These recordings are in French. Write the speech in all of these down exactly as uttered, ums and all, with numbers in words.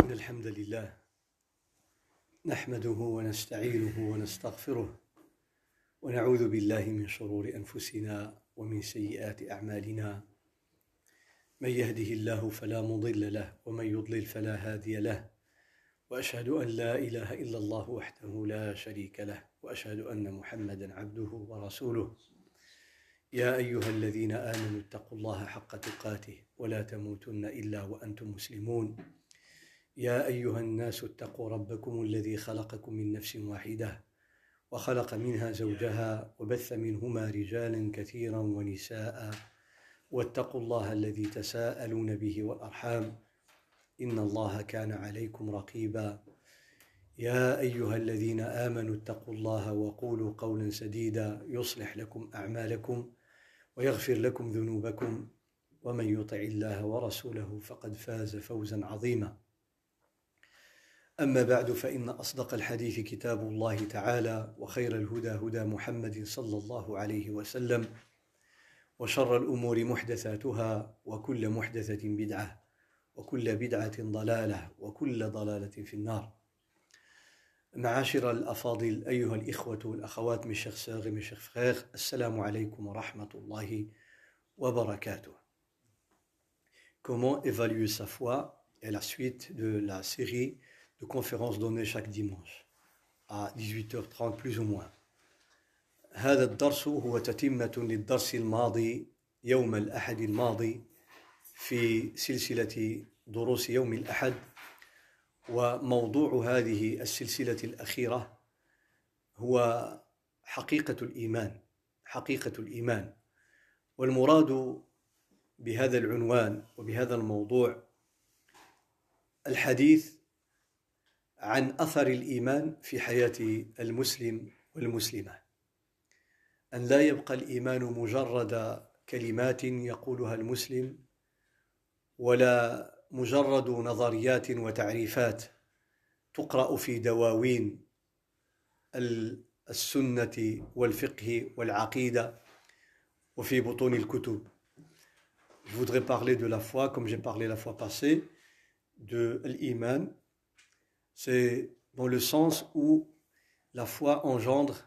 إن الحمد لله نحمده ونستعينه ونستغفره ونعوذ بالله من شرور أنفسنا ومن سيئات أعمالنا. من يهده الله فلا مضل له ومن يضلل فلا هادي له، وأشهد أن لا إله إلا الله وحده لا شريك له، وأشهد أن محمدا عبده ورسوله. يا أيها الذين آمنوا اتقوا الله حق تقاته ولا تموتن إلا وأنتم مسلمون. يا أيها الناس اتقوا ربكم الذي خلقكم من نفس واحدة وخلق منها زوجها وبث منهما رجالا كثيرا ونساء، واتقوا الله الذي تساءلون به والأرحام إن الله كان عليكم رقيبا. يا أيها الذين آمنوا اتقوا الله وقولوا قولا سديدا يصلح لكم أعمالكم ويغفر لكم ذنوبكم، ومن يطع الله ورسوله فقد فاز فوزا عظيما. أما بعد، فإن أصدق الحديث كتاب الله تعالى، وخير الهدى هدى محمد صلى الله عليه وسلم، وشر الأمور محدثاتها، وكل محدثة بدعة، وكل بدعة ضلالة، وكل ضلالة في النار. معاشر الأفاضل، أيها الإخوة والأخوات، mes chers sœurs et mes chers frères, assalamu alaikum wa rahmatullahi wa barakatuh. Comment évaluer sa foi est la suite de la série de conférences données chaque dimanche à dix-huit heures trente plus ou moins. هذا الدرس هو تتمة للدرس الماضي يوم الأحد الماضي في سلسلة دروس يوم الأحد، وموضوع هذه السلسلة الأخيرة هو حقيقة الإيمان. حقيقة الإيمان، والمراد بهذا العنوان وبهذا الموضوع الحديث عن أثر الإيمان في حياة المسلم والمسلمة، أن لا يبقى الإيمان مجرد كلمات يقولها المسلم، ولا مجرد نظريات وتعريفات تقرأ في دواوين السنة والفقه والعقيدة وفي بطون الكتب. Je voudrais parler de la foi, comme j'ai parlé la fois passée, de l'iman. C'est dans le sens où la foi engendre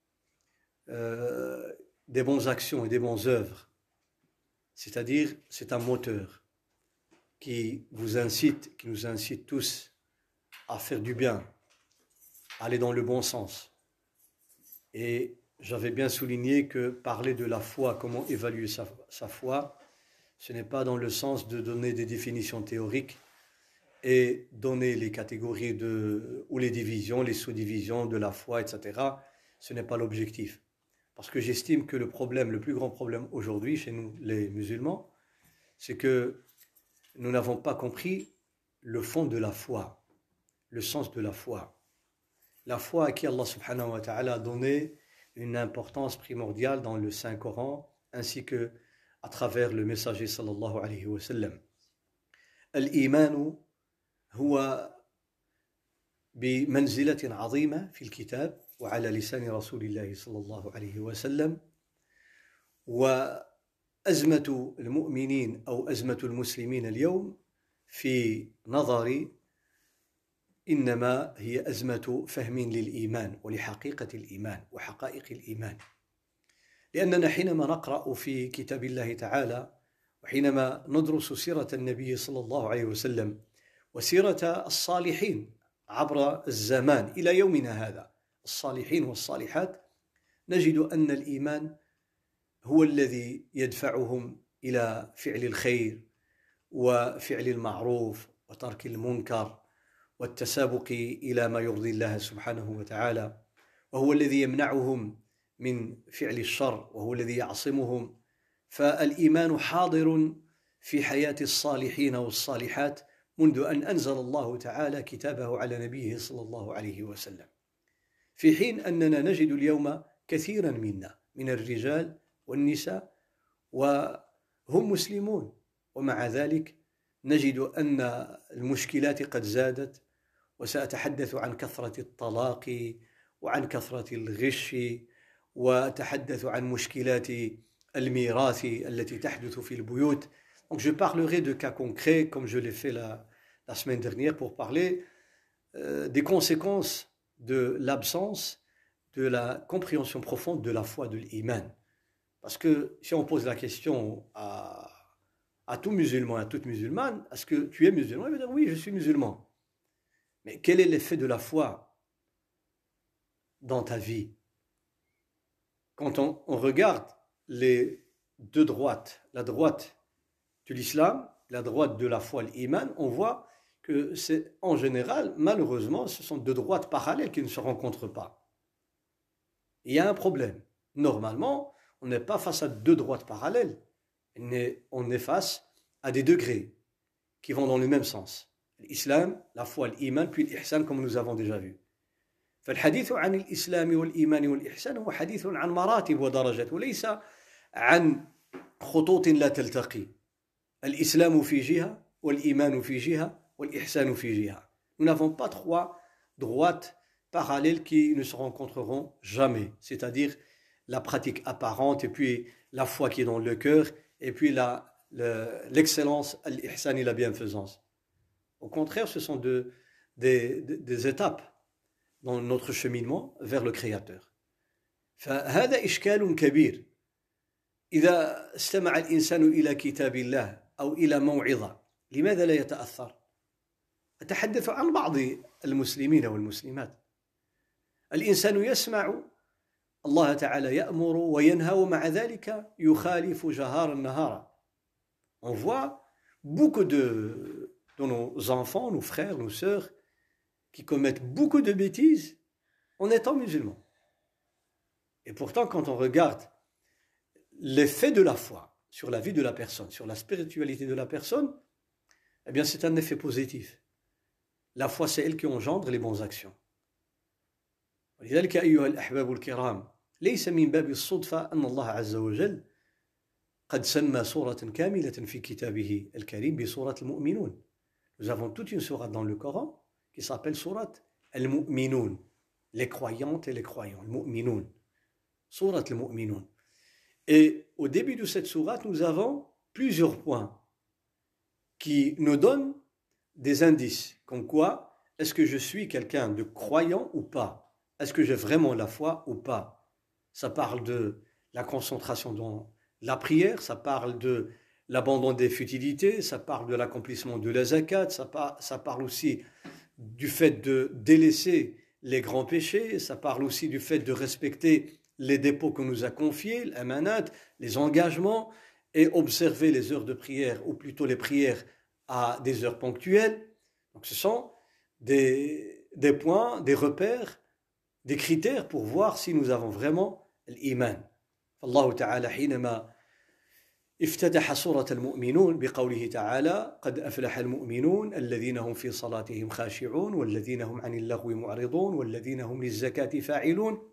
euh, des bonnes actions et des bonnes œuvres. C'est-à-dire, c'est un moteur qui vous incite, qui nous incite tous à faire du bien, à aller dans le bon sens. Et j'avais bien souligné que parler de la foi, comment évaluer sa, sa foi, ce n'est pas dans le sens de donner des définitions théoriques et donner les catégories de, ou les divisions, les sous-divisions de la foi, et cetera. Ce n'est pas l'objectif. Parce que j'estime que le problème, le plus grand problème aujourd'hui chez nous, les musulmans, c'est que nous n'avons pas compris le fond de la foi, le sens de la foi. La foi à qui Allah subhanahu wa ta'ala a donné une importance primordiale dans le Saint-Coran, ainsi que à travers le messager sallallahu alayhi wa sallam. Al-Imanu هو بمنزلة عظيمة في الكتاب وعلى لسان رسول الله صلى الله عليه وسلم، وأزمة المؤمنين أو أزمة المسلمين اليوم في نظري إنما هي أزمة فهم للإيمان ولحقيقة الإيمان وحقائق الإيمان. لأننا حينما نقرأ في كتاب الله تعالى، وحينما ندرس سيرة النبي صلى الله عليه وسلم وسيرة الصالحين عبر الزمان إلى يومنا هذا، الصالحين والصالحات، نجد أن الإيمان هو الذي يدفعهم إلى فعل الخير وفعل المعروف وترك المنكر والتسابق إلى ما يرضي الله سبحانه وتعالى، وهو الذي يمنعهم من فعل الشر، وهو الذي يعصمهم. فالإيمان حاضر في حياة الصالحين والصالحات منذ أن أنزل الله تعالى كتابه على نبيه صلى الله عليه وسلم، في حين أننا نجد اليوم كثيرا منا من الرجال والنساء وهم مسلمون، ومع ذلك نجد أن المشكلات قد زادت. وسأتحدث عن كثرة الطلاق وعن كثرة الغش، وأتحدث عن مشكلات الميراث التي تحدث في البيوت. Donc je parlerai de cas concrets comme je l'ai fait la, la semaine dernière pour parler euh, des conséquences de l'absence de la compréhension profonde de la foi, de l'iman. Parce que si on pose la question à, à tout musulman, à toute musulmane, est-ce que tu es musulman? Il va dire oui, je suis musulman. Mais quel est l'effet de la foi dans ta vie? Quand on, on regarde les deux droites, la droite de l'islam, la droite de la foi, l'iman, on voit que c'est en général, malheureusement, ce sont deux droites parallèles qui ne se rencontrent pas. Il y a un problème. Normalement, on n'est pas face à deux droites parallèles, on est face à des degrés qui vont dans le même sens. L'islam, la foi, l'iman, puis l'ihsan, comme nous avons déjà vu. فالحديث عن الإسلام والإيمان والإحسان هو حديث عن مراتب ودرجات وليس عن خطوط لا تلتقي. الإسلام في جهة والإيمان في جهة والإحسان في جهة. Nous n'avons pas trois droites parallèles qui ne se rencontreront jamais, c'est-à-dire la pratique apparente et puis la foi qui est dans le cœur et puis la, le, l'excellence, l'ihsan et la bienfaisance. Au contraire, ce sont de, des, des, des étapes dans notre cheminement vers le Créateur. فهذا إشكال كبير. إذا استمع الإنسان إلى كتاب الله أو إلى موعظة لماذا لا يتأثر؟ أتحدث عن بعض المسلمين والمسلمات. الإنسان يسمع الله تعالى يأمر وينهى ومع ذلك يخالف جهارا نهارا. On voit beaucoup de, de nos enfants, nos frères, nos sœurs qui commettent beaucoup de bêtises en étant musulmans. Et pourtant, quand on regarde l'effet de la foi sur la vie de la personne, sur la spiritualité de la personne, eh bien c'est un effet positif. La foi, c'est elle qui engendre les bonnes actions. ولذلك أيها الأحباب الكرام ليس من باب الصدفة أن الله عز وجل قد سمى سورة كاملة في كتابه الكريم بسورة المؤمنون. Nous avons toute une sourate dans le Coran qui s'appelle sourate al-Mu'minun, les croyantes et les croyants, al-Mu'minun, sourate al-Mu'minun. Et au début de cette sourate, nous avons plusieurs points qui nous donnent des indices, comme quoi, est-ce que je suis quelqu'un de croyant ou pas? Est-ce que j'ai vraiment la foi ou pas? Ça parle de la concentration dans la prière, ça parle de l'abandon des futilités, ça parle de l'accomplissement de la zakat, ça, par, ça parle aussi du fait de délaisser les grands péchés, ça parle aussi du fait de respecter les dépôts qu'on nous a confiés, l'amanat, les engagements, et observer les heures de prière, ou plutôt les prières à des heures ponctuelles. Donc ce sont des, des points, des repères, des critères pour voir si nous avons vraiment l'iman. Allah Ta'ala, حينما افتتح سورة المؤمنون بقوله تعالى قد أفلح المؤمنون الذين هم في صلاتهم خاشعون والذين هم عن اللغو معرضون والذين هم للزكاة فاعلون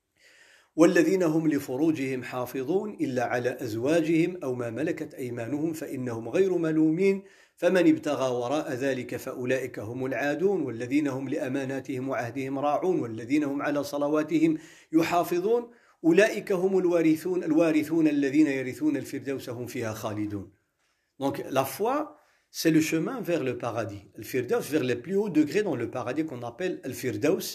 والذين هم لفروجهم حافظون إلا على أزواجهم أو ما ملكت أيمانهم فإنهم غير ملومين فمن ابتغى وراء ذلك فأولئك هم العادون والذين هم لأماناتهم وعهدهم راعون والذين هم على صلواتهم يحافظون أولئك هم الوارثون الوارثون الذين يرثون الفردوس هم فيها خالدون. Donc la foi, c'est le chemin vers le paradis. Le firdaus, vers les plus hauts degrés dans le paradis qu'on appelle le firdaus,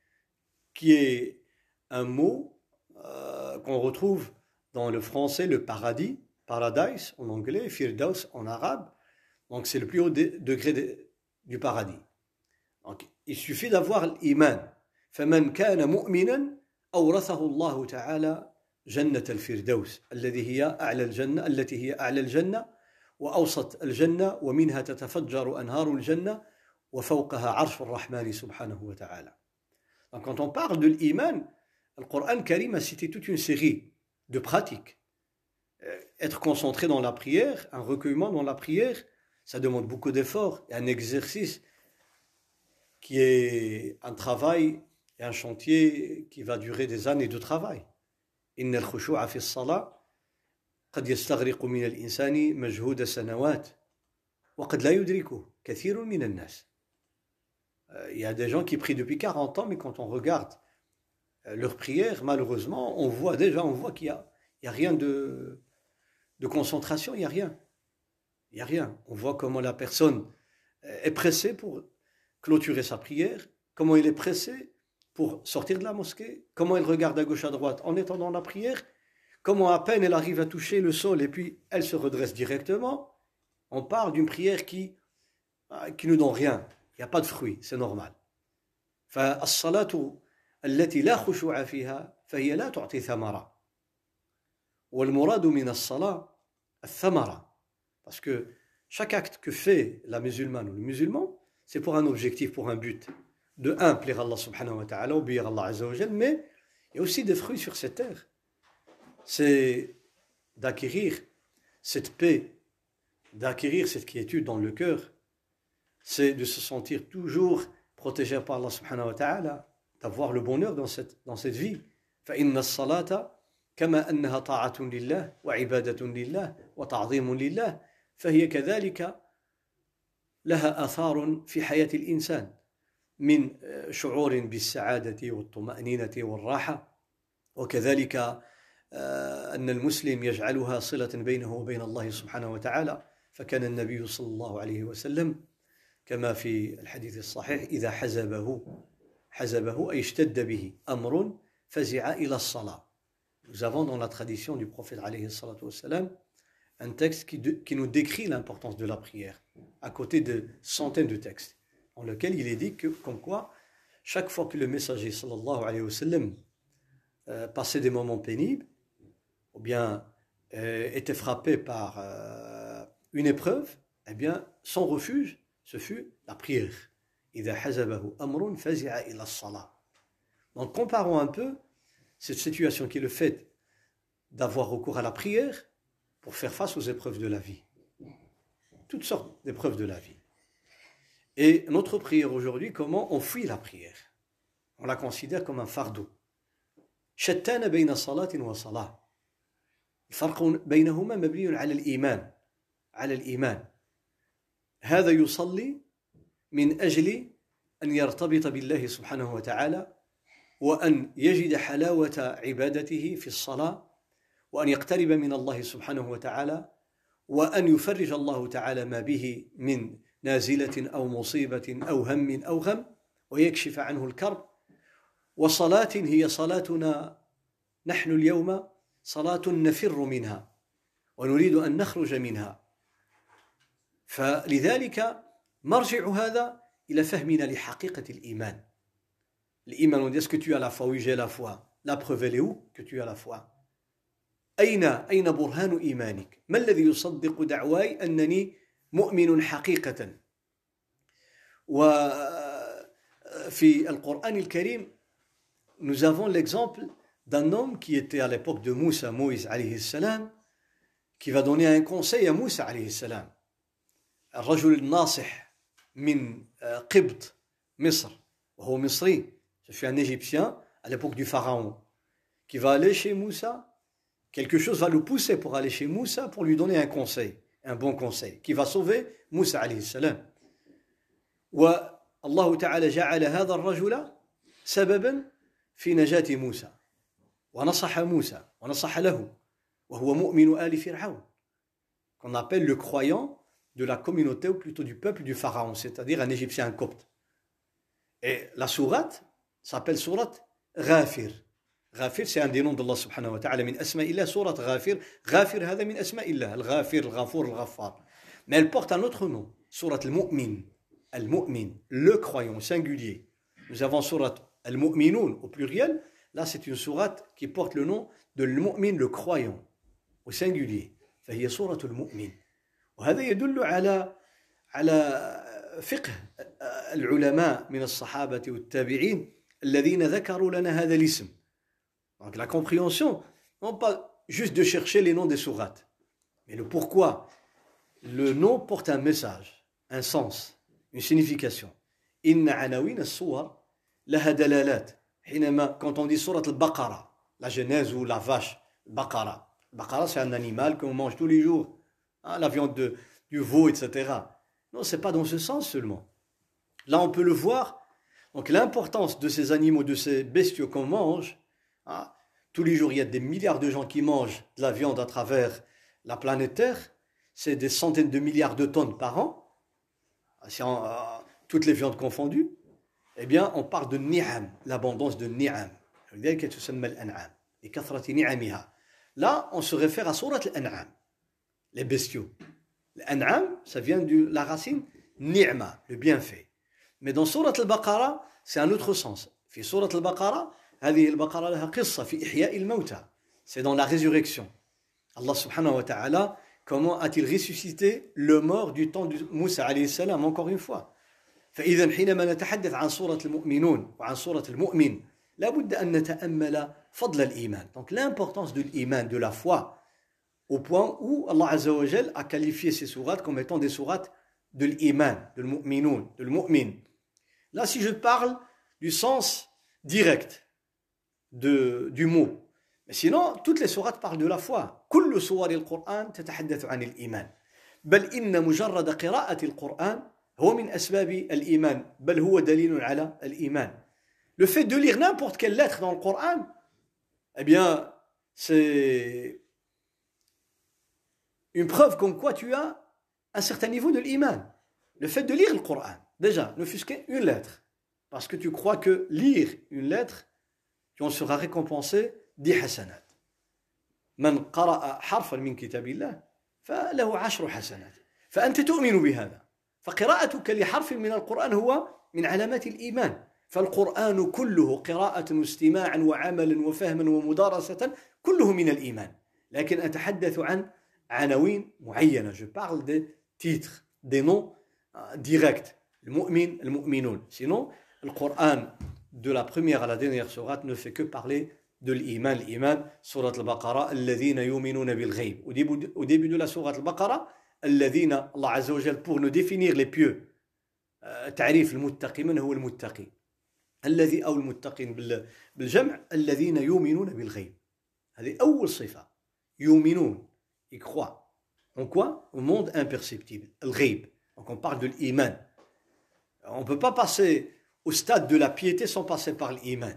qui est un mot euh, qu'on retrouve dans le français, le paradis, paradise en anglais, firdaus en arabe. Donc c'est le plus haut de, degré de, du paradis. Donc il suffit d'avoir l'iman. فمن كان مؤمنا أورثه الله تعالى جنة الفردوس الذي هي أعلى الجنة التي هي أعلى الجنة وأوسط الجنة ومنها تتفجر أنهار الجنة وفوقها عرش الرحمن سبحانه وتعالى. Donc quand on parle de l'iman, le Coran Karim a cité toute une série de pratiques. Être concentré dans la prière, un recueillement dans la prière, ça demande beaucoup d'efforts et un exercice qui est un travail et un chantier qui va durer des années de travail. إن الخشوع في الصلاة قد يستغرق من الإنسان مجهود سنوات وقد لا يدركه كثير من الناس. Il y a des gens qui prient depuis quarante ans, mais quand on regarde leur prière, malheureusement, on voit déjà, on voit qu'il y a, il y a rien de, de concentration, il y a rien. Il y a rien. On voit comment la personne est pressé pour clôturer sa prière, comment il est pressé pour sortir de la mosquée, comment elle regarde à gauche à droite en étant dans la prière, comment à peine elle arrive à toucher le sol et puis elle se redresse directement. On parle d'une prière qui, qui ne donne rien, il n'y a pas de fruit, c'est normal. فالصلاة التي لا خشوع فيها فهي لا تعطي ثمرة. والمراد من الصلاة الثمرة. Parce que chaque acte que fait la musulmane ou le musulman, c'est pour un objectif, pour un but. De un, plaire à Allah subhanahu wa ta'ala, obéir à Allah azza wa jal, mais il y a aussi des fruits sur cette terre. C'est d'acquérir cette paix, d'acquérir cette quiétude dans le cœur, c'est de se sentir toujours protégé par Allah subhanahu wa ta'ala, d'avoir le bonheur dans cette, dans cette vie. فإن الصلاة كما أنها طاعة لله وعبادة لله وتعظيم لله فهي كذلك لها آثار في حياة الإنسان من شعور بالسعادة والطمأنينة والراحة وكذلك أن المسلم يجعلها صلة بينه وبين الله سبحانه وتعالى فكان النبي صلى الله عليه وسلم كما في الحديث الصحيح إذا حزبه حزبه أي اشتد به أمر فزع إلى الصلاة. Nous avons dans la tradition du prophète alayhi salatu wassalam un texte qui, de, qui nous décrit l'importance de la prière, à côté de centaines de textes, dans lequel il est dit que, comme quoi, chaque fois que le messager sallallahu alayhi wa sallam euh, passait des moments pénibles, ou bien euh, était frappé par euh, une épreuve, eh bien, son refuge, ce fut la prière. إِذَا حَزَبَهُ أَمْرٌ فَزِعَ إِلَى الصَّلَاةِ. Donc, comparons un peu cette situation qui est le fait d'avoir recours à la prière pour faire face aux épreuves de la vie. Toutes sortes d'épreuves de la vie. Et notre prière aujourd'hui, comment on fuit la prière? On la considère comme un fardeau. شتان بين صلاة وصلاة. الفرق بينهما مبني على الإيمان. على الإيمان. هذا يصلي من أجل أن يرتبط بالله سبحانه وتعالى وأن يجد حلاوة عبادته في الصلاة وأن يقترب من الله سبحانه وتعالى وأن يفرج الله تعالى ما به من نازلة أو مصيبة أو هم أو غم ويكشف عنه الكرب. وصلاة هي صلاتنا نحن اليوم صلاة نفر منها ونريد أن نخرج منها. فلذلك مرجع هذا إلى فهمنا لحقيقة الإيمان. L'Iman, on dit, est-ce que tu as la foi? Oui, j'ai la foi. La preuve, elle est où que tu as la foi? أين أين برهان إيمانك؟ ما الذي يصدق دعواي أنني مؤمن حقيقة؟ وفي القرآن الكريم nous avons l'exemple d'un homme qui était à l'époque de Moussa, Moïse alayhi salam, qui va donner un conseil à Moussa alayhi salam. الرجل الناصح من قبط مصر وهو مصري. Je suis un Égyptien à l'époque du pharaon qui va aller chez Moussa. Quelque chose va le pousser pour aller chez Moussa pour lui donner un conseil, un bon conseil, qui va sauver Moussa alayhi salam. والله تعالى جعل هذا الرجل سببا في نجاة موسى ونصح موسى ونصح له وهو مؤمن آل فرعون, qu'on appelle le croyant de la communauté ou plutôt du peuple du pharaon, c'est-à-dire un Égyptien copte. Et la sourate s'appelle sourate Ghafir. Ghafir, c'est un des noms d'Allah subhanahu wa ta'ala, min asma'illah, sourate Ghafir. Ghafir, هذا من أسماء الله, الغافر, الغفور, الغفار. Mais elle porte un autre nom, sourate al-Mu'min. Al-Mu'min, le croyant, singulier. Nous avons sourate al-Mu'minun au pluriel. Là, c'est une sourate qui porte le nom de al-Mu'min, le croyant, au singulier. فهي سورة المؤمن. وهذا يدل على على فقه العلماء من الصحابة والتابعين الذين ذكروا لنا هذا الاسم. Donc la compréhension, non pas juste de chercher les noms des sourates, mais le pourquoi. Le nom porte un message, un sens, une signification. إن عناوين الصور لها دلالات. حينما quand on dit sourate al-Baqara, la Genèse ou la vache, Baqara. Baqara, c'est un animal qu'on mange tous les jours. Hein, la viande de, du veau, et cetera. Non, ce n'est pas dans ce sens seulement. Là, on peut le voir. Donc, l'importance de ces animaux, de ces bestiaux qu'on mange, hein, tous les jours, il y a des milliards de gens qui mangent de la viande à travers la planète Terre. C'est des centaines de milliards de tonnes par an. si on, euh, toutes les viandes confondues, eh bien, on parle de ni'am, l'abondance de ni'am. Là, on se réfère à Surat al-An'am, les bestiaux. L'An'am, ça vient de la racine ni'ma, le bienfait. Mais dans Surat al-Baqarah, c'est un autre sens. في سورة البقرة هذه البقرة لها قصة في إحياء الموتى. C'est dans la résurrection. Allah subhanahu wa ta'ala, comment a-t-il ressuscité le mort du temps de Moussa alayhi salam, encore une fois. فإذا حينما نتحدث عن سورة المؤمنون وعن سورة المؤمن لابد أن نتأمل فضل الإيمان. Donc l'importance de l'iman, de la foi, au point où Allah Azza wa Jal a qualifié ces sourates comme étant des sourates de l'iman, de l'mu'minoun, de l'mu'min. Là, si je parle du sens direct de, du mot. Mais sinon, toutes les sourates parlent de la foi. كل سور القرآن تتحدث عن الإيمان. بل إن مجرد قراءة القرآن هو من أسباب الإيمان. بل هو دليل على الإيمان. Le fait de lire n'importe quelle lettre dans le Coran, eh bien, c'est une preuve comme quoi tu as un certain niveau de l'iman. Le fait de lire le Coran, déjà, ne fût-ce qu'une lettre. Parce que tu crois que lire une lettre, tu en seras récompensé dix hasanat. من قرأ حرفا من كتاب الله فله عشر حسنات. فأنت تؤمن بهذا. فقراءتك لحرف من القرآن هو من علامات الإيمان. فالقرآن كله قراءة واستماعا وعملا وفهما ومدارسة كله من الإيمان. لكن أتحدث عن عناوين معينة. Je parle des titres, des noms directs. المؤمن, المؤمنون. Sinon, le Coran, de la première à la dernière sourate, ne fait que parler de l'iman. L'iman, surat al-Baqarah, alladhina yuminuna bil ghayb. Au début, au début de la sourate al-Baqarah, alladhina, Allah Azza wa Jal, pour nous définir les pieux, تعريف المتقي من هو المتقي الذي أو المتقين بالجمع الذين يؤمنون بالغيب. هذه أول صفة. يؤمنون, ils croient. En quoi? Au monde imperceptible. الغيب. Donc on parle de l'iman. On ne peut pas passer au stade de la piété sans passer par l'iman.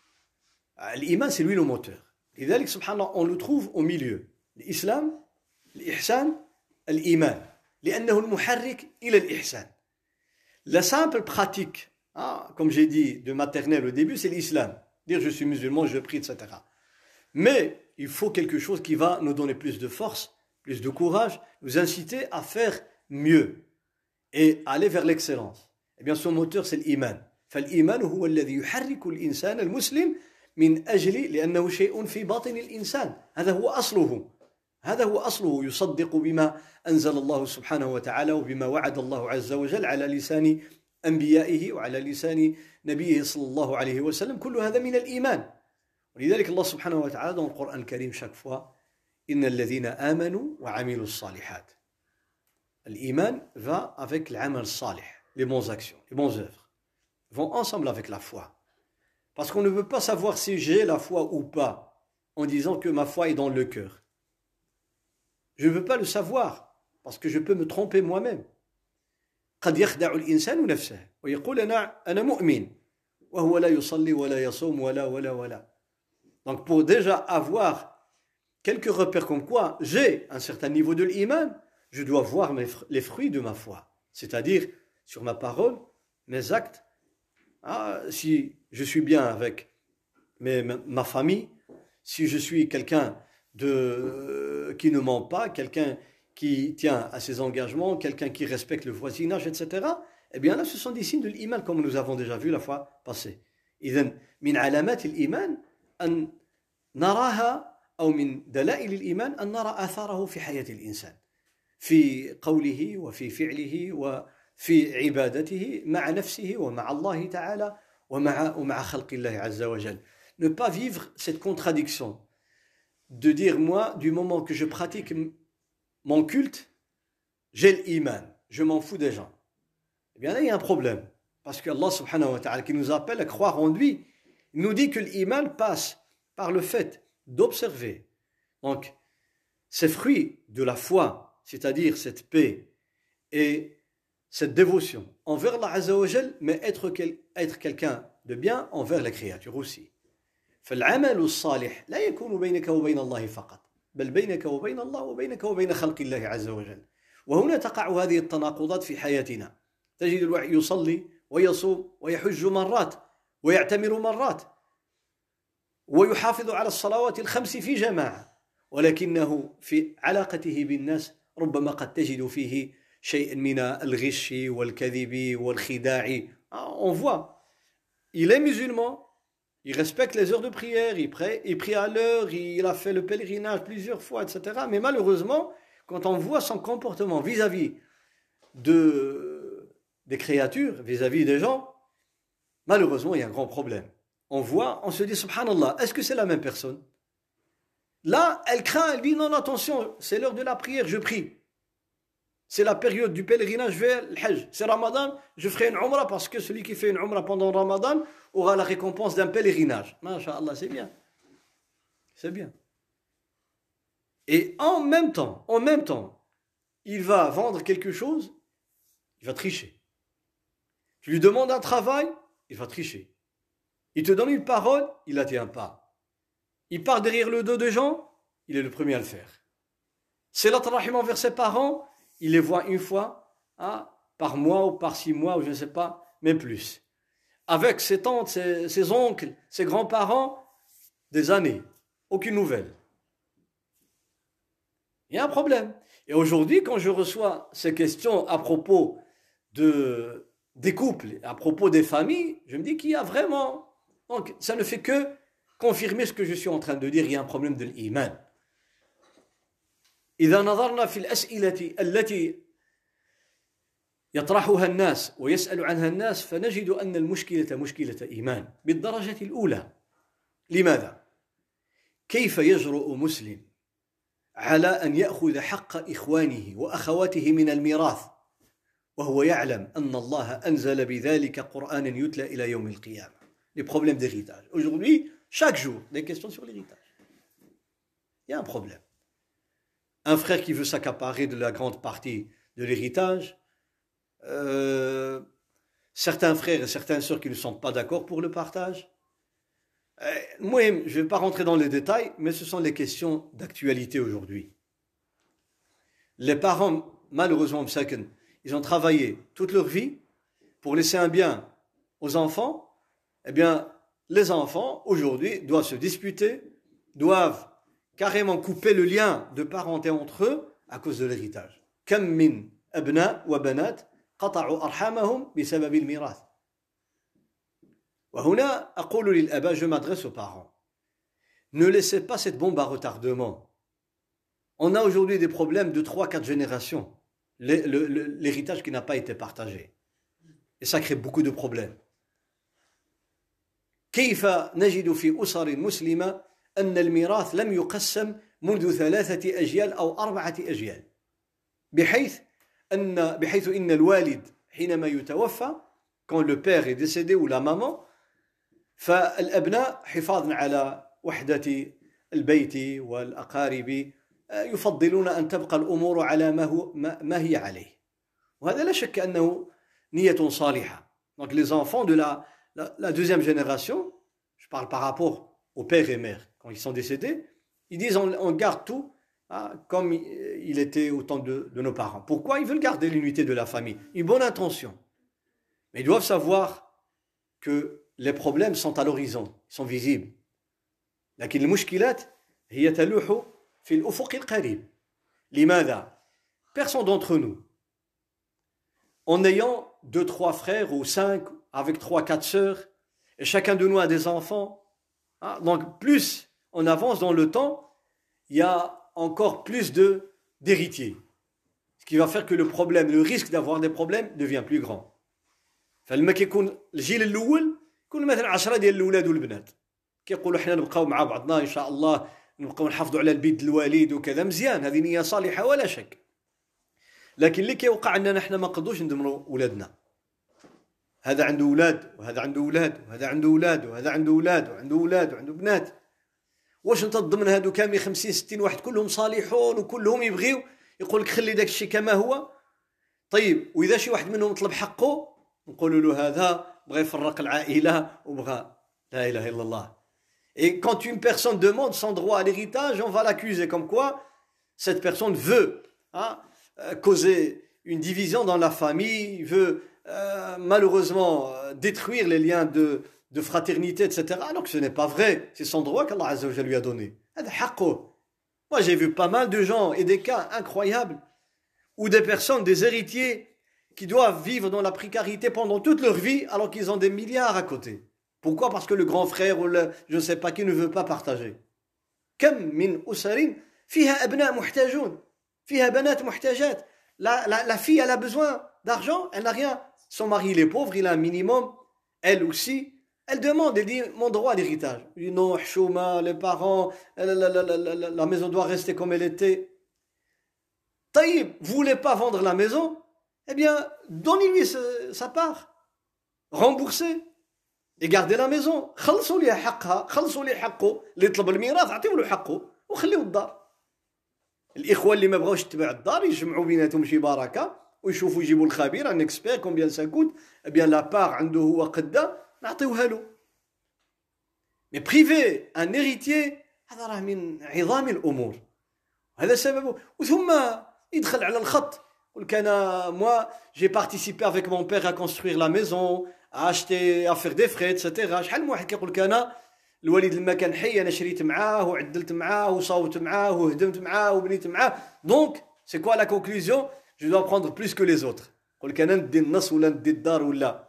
L'iman, c'est lui le moteur. لذلك سبحان الله, on le trouve au milieu. L'islam, l'ihsan, l'iman. لأنه المحرك إلى الإحسان. La simple pratique, ah, comme j'ai dit de maternelle au début, c'est l'islam. Dire je suis musulman, je prie, et cetera. Mais il faut quelque chose qui va nous donner plus de force, plus de courage, nous inciter à faire mieux et aller vers l'excellence. Eh bien, son moteur, c'est l'iman. فالإيمان هو الذي يحرك الإنسان المسلم من أجل لأنه شيء في باطن الإنسان. هذا هو أصله. هذا هو أصله. يصدق بما أنزل الله سبحانه وتعالى وبما وعد الله عز وجل على لسان أنبيائه وعلى لسان نبيه صلى الله عليه وسلم. كل هذا من الإيمان. ولذلك الله سبحانه وتعالى dans le Coran الكريم chaque fois إن الذين آمنوا وعملوا الصالحات. الإيمان va avec العمل الصالح, les bonnes actions, les bonnes œuvres. Vont ensemble avec la foi. Parce qu'on ne peut pas savoir si j'ai la foi ou pas en disant que ma foi est dans le cœur. Je ne veux pas le savoir parce que je peux me tromper moi-même. قد يخدع الإنسان نفسه ويقول أنا أنا مؤمن وهو لا يصلي ولا يصوم ولا ولا ولا. Donc pour déjà avoir quelques repères comme quoi j'ai un certain niveau de l'iman, je dois voir mes, les fruits de ma foi. C'est-à-dire sur ma parole, mes actes. Ah, si je suis bien avec mes, ma famille, si je suis quelqu'un de, euh, qui ne ment pas, quelqu'un qui tient à ses engagements, quelqu'un qui respecte le voisinage, et cetera, eh bien là, ce sont des signes de l'iman, comme nous avons déjà vu la fois passée. إذن من علامات الإيمان أن نراها أو من دلائل الإيمان أن نرى آثاره في حياة الإنسان في قوله وفي فعله وفي عبادته مع نفسه ومع الله تعالى ومع ومع خلق الله عز وجل. Ne pas vivre cette contradiction de dire moi, du moment que je pratique mon culte, j'ai l'iman, je m'en fous des gens. Eh bien là, il y a un problème. Parce que Allah subhanahu wa ta'ala, qui nous appelle à croire en lui, il nous dit que l'iman passe par le fait d'observer. Donc, ces fruits de la foi, c'est-à-dire cette paix et cette dévotion envers Allah Azza wa Jal, mais être, quel, être quelqu'un de bien envers la créature aussi. فالعمل الصالح لا يكون بينك وبين الله فقط بل بينك وبين الله وبينك وبين خلق الله عز وجل. وهنا تقع هذه التناقضات في حياتنا. تجد الواحد يصلي ويصوم ويحج مرات ويعتمر مرات ويحافظ على الصلوات الخمس في جماعة، ولكنه في علاقته بالناس ربما قد تجد فيه شيء من الغش والكذب والخداع. On voit, il est musulman, il respecte les heures de prière, il prie, il prie à l'heure, il a fait le pèlerinage plusieurs fois, et cetera. Mais malheureusement, quand on voit son comportement vis-à-vis de, des créatures, vis-à-vis des gens, malheureusement, il y a un grand problème. On voit, on se dit, subhanallah, est-ce que c'est la même personne? Là, elle craint, elle dit, non, non, attention, c'est l'heure de la prière, je prie. C'est la période du pèlerinage vers le Hajj. C'est Ramadan, je ferai une Umrah parce que celui qui fait une Umrah pendant Ramadan aura la récompense d'un pèlerinage. Masha'Allah, c'est bien. C'est bien. Et en même temps, en même temps, il va vendre quelque chose, il va tricher. Tu lui demandes un travail, il va tricher. Il te donne une parole, il la tient pas. Il part derrière le dos des gens, il est le premier à le faire. C'est la rahim envers ses parents, il les voit une fois hein, par mois ou par six mois, ou je ne sais pas, même plus. Avec ses tantes, ses, ses oncles, ses grands-parents, des années, aucune nouvelle. Il y a un problème. Et aujourd'hui, quand je reçois ces questions à propos de, des couples, à propos des familles, je me dis qu'il y a vraiment... Donc, ça ne fait que confirmer ce que je suis en train de dire, il y a un problème de l'iman. إذا نظرنا في الأسئلة التي يطرحها الناس ويسأل عنها الناس فنجد أن المشكلة مشكلة إيمان بالدرجة الأولى. لماذا؟ كيف يجرؤ مسلم على أن يأخذ حق إخوانه وأخواته من الميراث وهو يعلم أن الله أنزل بذلك قرآنا يتلى إلى يوم القيامة. Les problèmes d'héritage. Aujourd'hui, chaque jour, des questions sur l'héritage. Il y a un problème. Un frère qui veut s'accaparer de la grande partie de l'héritage, euh, certains frères et certaines sœurs qui ne sont pas d'accord pour le partage. Euh, moi, je ne vais pas rentrer dans les détails, mais ce sont les questions d'actualité aujourd'hui. Les parents, malheureusement, ils ont travaillé toute leur vie pour laisser un bien aux enfants. Eh bien, les enfants, aujourd'hui, doivent se disputer, doivent carrément couper le lien de parenté entre eux à cause de l'héritage. Kam min abna wa banat qata'u arhamahum bisabab al-mirath. Wa huna aqulu lil aba, je m'adresse aux parents. Ne laissez pas cette bombe à retardement. On a aujourd'hui des problèmes de trois quatre générations. L'héritage qui n'a pas été partagé. Et ça crée beaucoup de problèmes. كيف نجد في أسر مسلمة أن الميراث لم يقسم منذ ثلاثة أجيال أو أربعة أجيال بحيث أن بحيث إن الوالد حينما يتوفى quand le père est décédé ou la maman فالأبناء حفاظا على وحدة البيت والأقارب يفضلون أن تبقى الأمور على ما هو ما هي عليه وهذا لا شك أنه نية صالحة. Donc les enfants de la La, la deuxième génération, je parle par rapport aux pères et mères, quand ils sont décédés, ils disent on, on garde tout hein, comme il était au temps de, de nos parents. Pourquoi? Ils veulent garder l'unité de la famille. Une bonne intention. Mais ils doivent savoir que les problèmes sont à l'horizon, ils sont visibles. لكن المشكلات هي تلوح في الأفق القريب. لماذا? Personne d'entre nous, en ayant deux, trois frères ou cinq, avec trois, quatre sœurs, et chacun de nous a des enfants. Hein? Donc, plus on avance dans le temps, il y a encore plus de, d'héritiers. Ce qui va faire que le problème, le risque d'avoir des problèmes devient plus grand. فلما كيكون الجيل الأول يكون مثلا عشرة ديال الأولاد والبنات كيقولوا حنا نبقاو مع بعضنا إن شاء الله نبقاو نحافظوا على البيت الوالد وكذا مزيان هذه نية صالحة ولا شك. لكن اللي كيوقع أننا حنا ما نقدروش ندمروا أولادنا. هذا عنده أولاد وهذا عنده أولاد وهذا عنده أولاد وهذا عنده أولاد وعنده أولاد وعنده بنات. واش انت ضمن هادو كامل خمسين ستين واحد كلهم صالحون وكلهم يبغيو يقول لك خلي داك الشيء كما هو. طيب واذا شي واحد منهم طلب حقه نقولوا له هذا بغى يفرق العائله وبغى لا اله الا الله. Et quand une personne demande son droit à l'héritage, on va l'accuser comme quoi cette personne veut hein, causer une division dans la famille, veut euh, malheureusement euh, détruire les liens de, de fraternité, et cetera. Alors que ce n'est pas vrai. C'est son droit qu'Allah Azza wa Jalla lui a donné. Moi, j'ai vu pas mal de gens et des cas incroyables où des personnes, des héritiers, qui doivent vivre dans la précarité pendant toute leur vie alors qu'ils ont des milliards à côté. Pourquoi? Parce que le grand frère ou le, je ne sais pas qui ne veut pas partager. كم من أسر فيها أبناء محتاجون فيها بنات محتاجات. La, la, la fille, elle a besoin d'argent, elle n'a rien. Son mari, il est pauvre, il a un minimum. Elle aussi, elle demande, elle dit mon droit à l'héritage. Il dit non, chouma, les parents, la, la, la, la, la, la maison doit rester comme elle était. Taïb, vous voulez pas vendre la maison? Eh bien, donnez-lui sa part. Remboursez. Et gardez la maison. خلصوا لي حقها، خلصوا لي حقه، اللي يطلب الميراث اعطيوا له حقه وخليوا الدار. الإخوة اللي ما بغاوش يتبعوا الدار يجمعوا بيناتهم شي بركة ويشوفوا يجيبوا الخبير ان اكسبير كومبيان سا كوت، eh bien la part عنده هو قدها نعطيوها له. Mais priver un héritier هذا راه من عظام الأمور. هذا سببه. وثم يدخل على الخط. يقول لك أنا moi j'ai participé avec mon père à construire la maison, à acheter, à faire des frais, et cetera. شحال من واحد كيقول لك أنا الوالد لما كان حي أنا شريت معاه وعدلت معاه وصوت معاه وهدمت معاه وبنيت معاه. Donc c'est quoi la conclusion? Je dois prendre plus que les autres. يقول لك أنا ندي النص ولا ندي الدار ولا.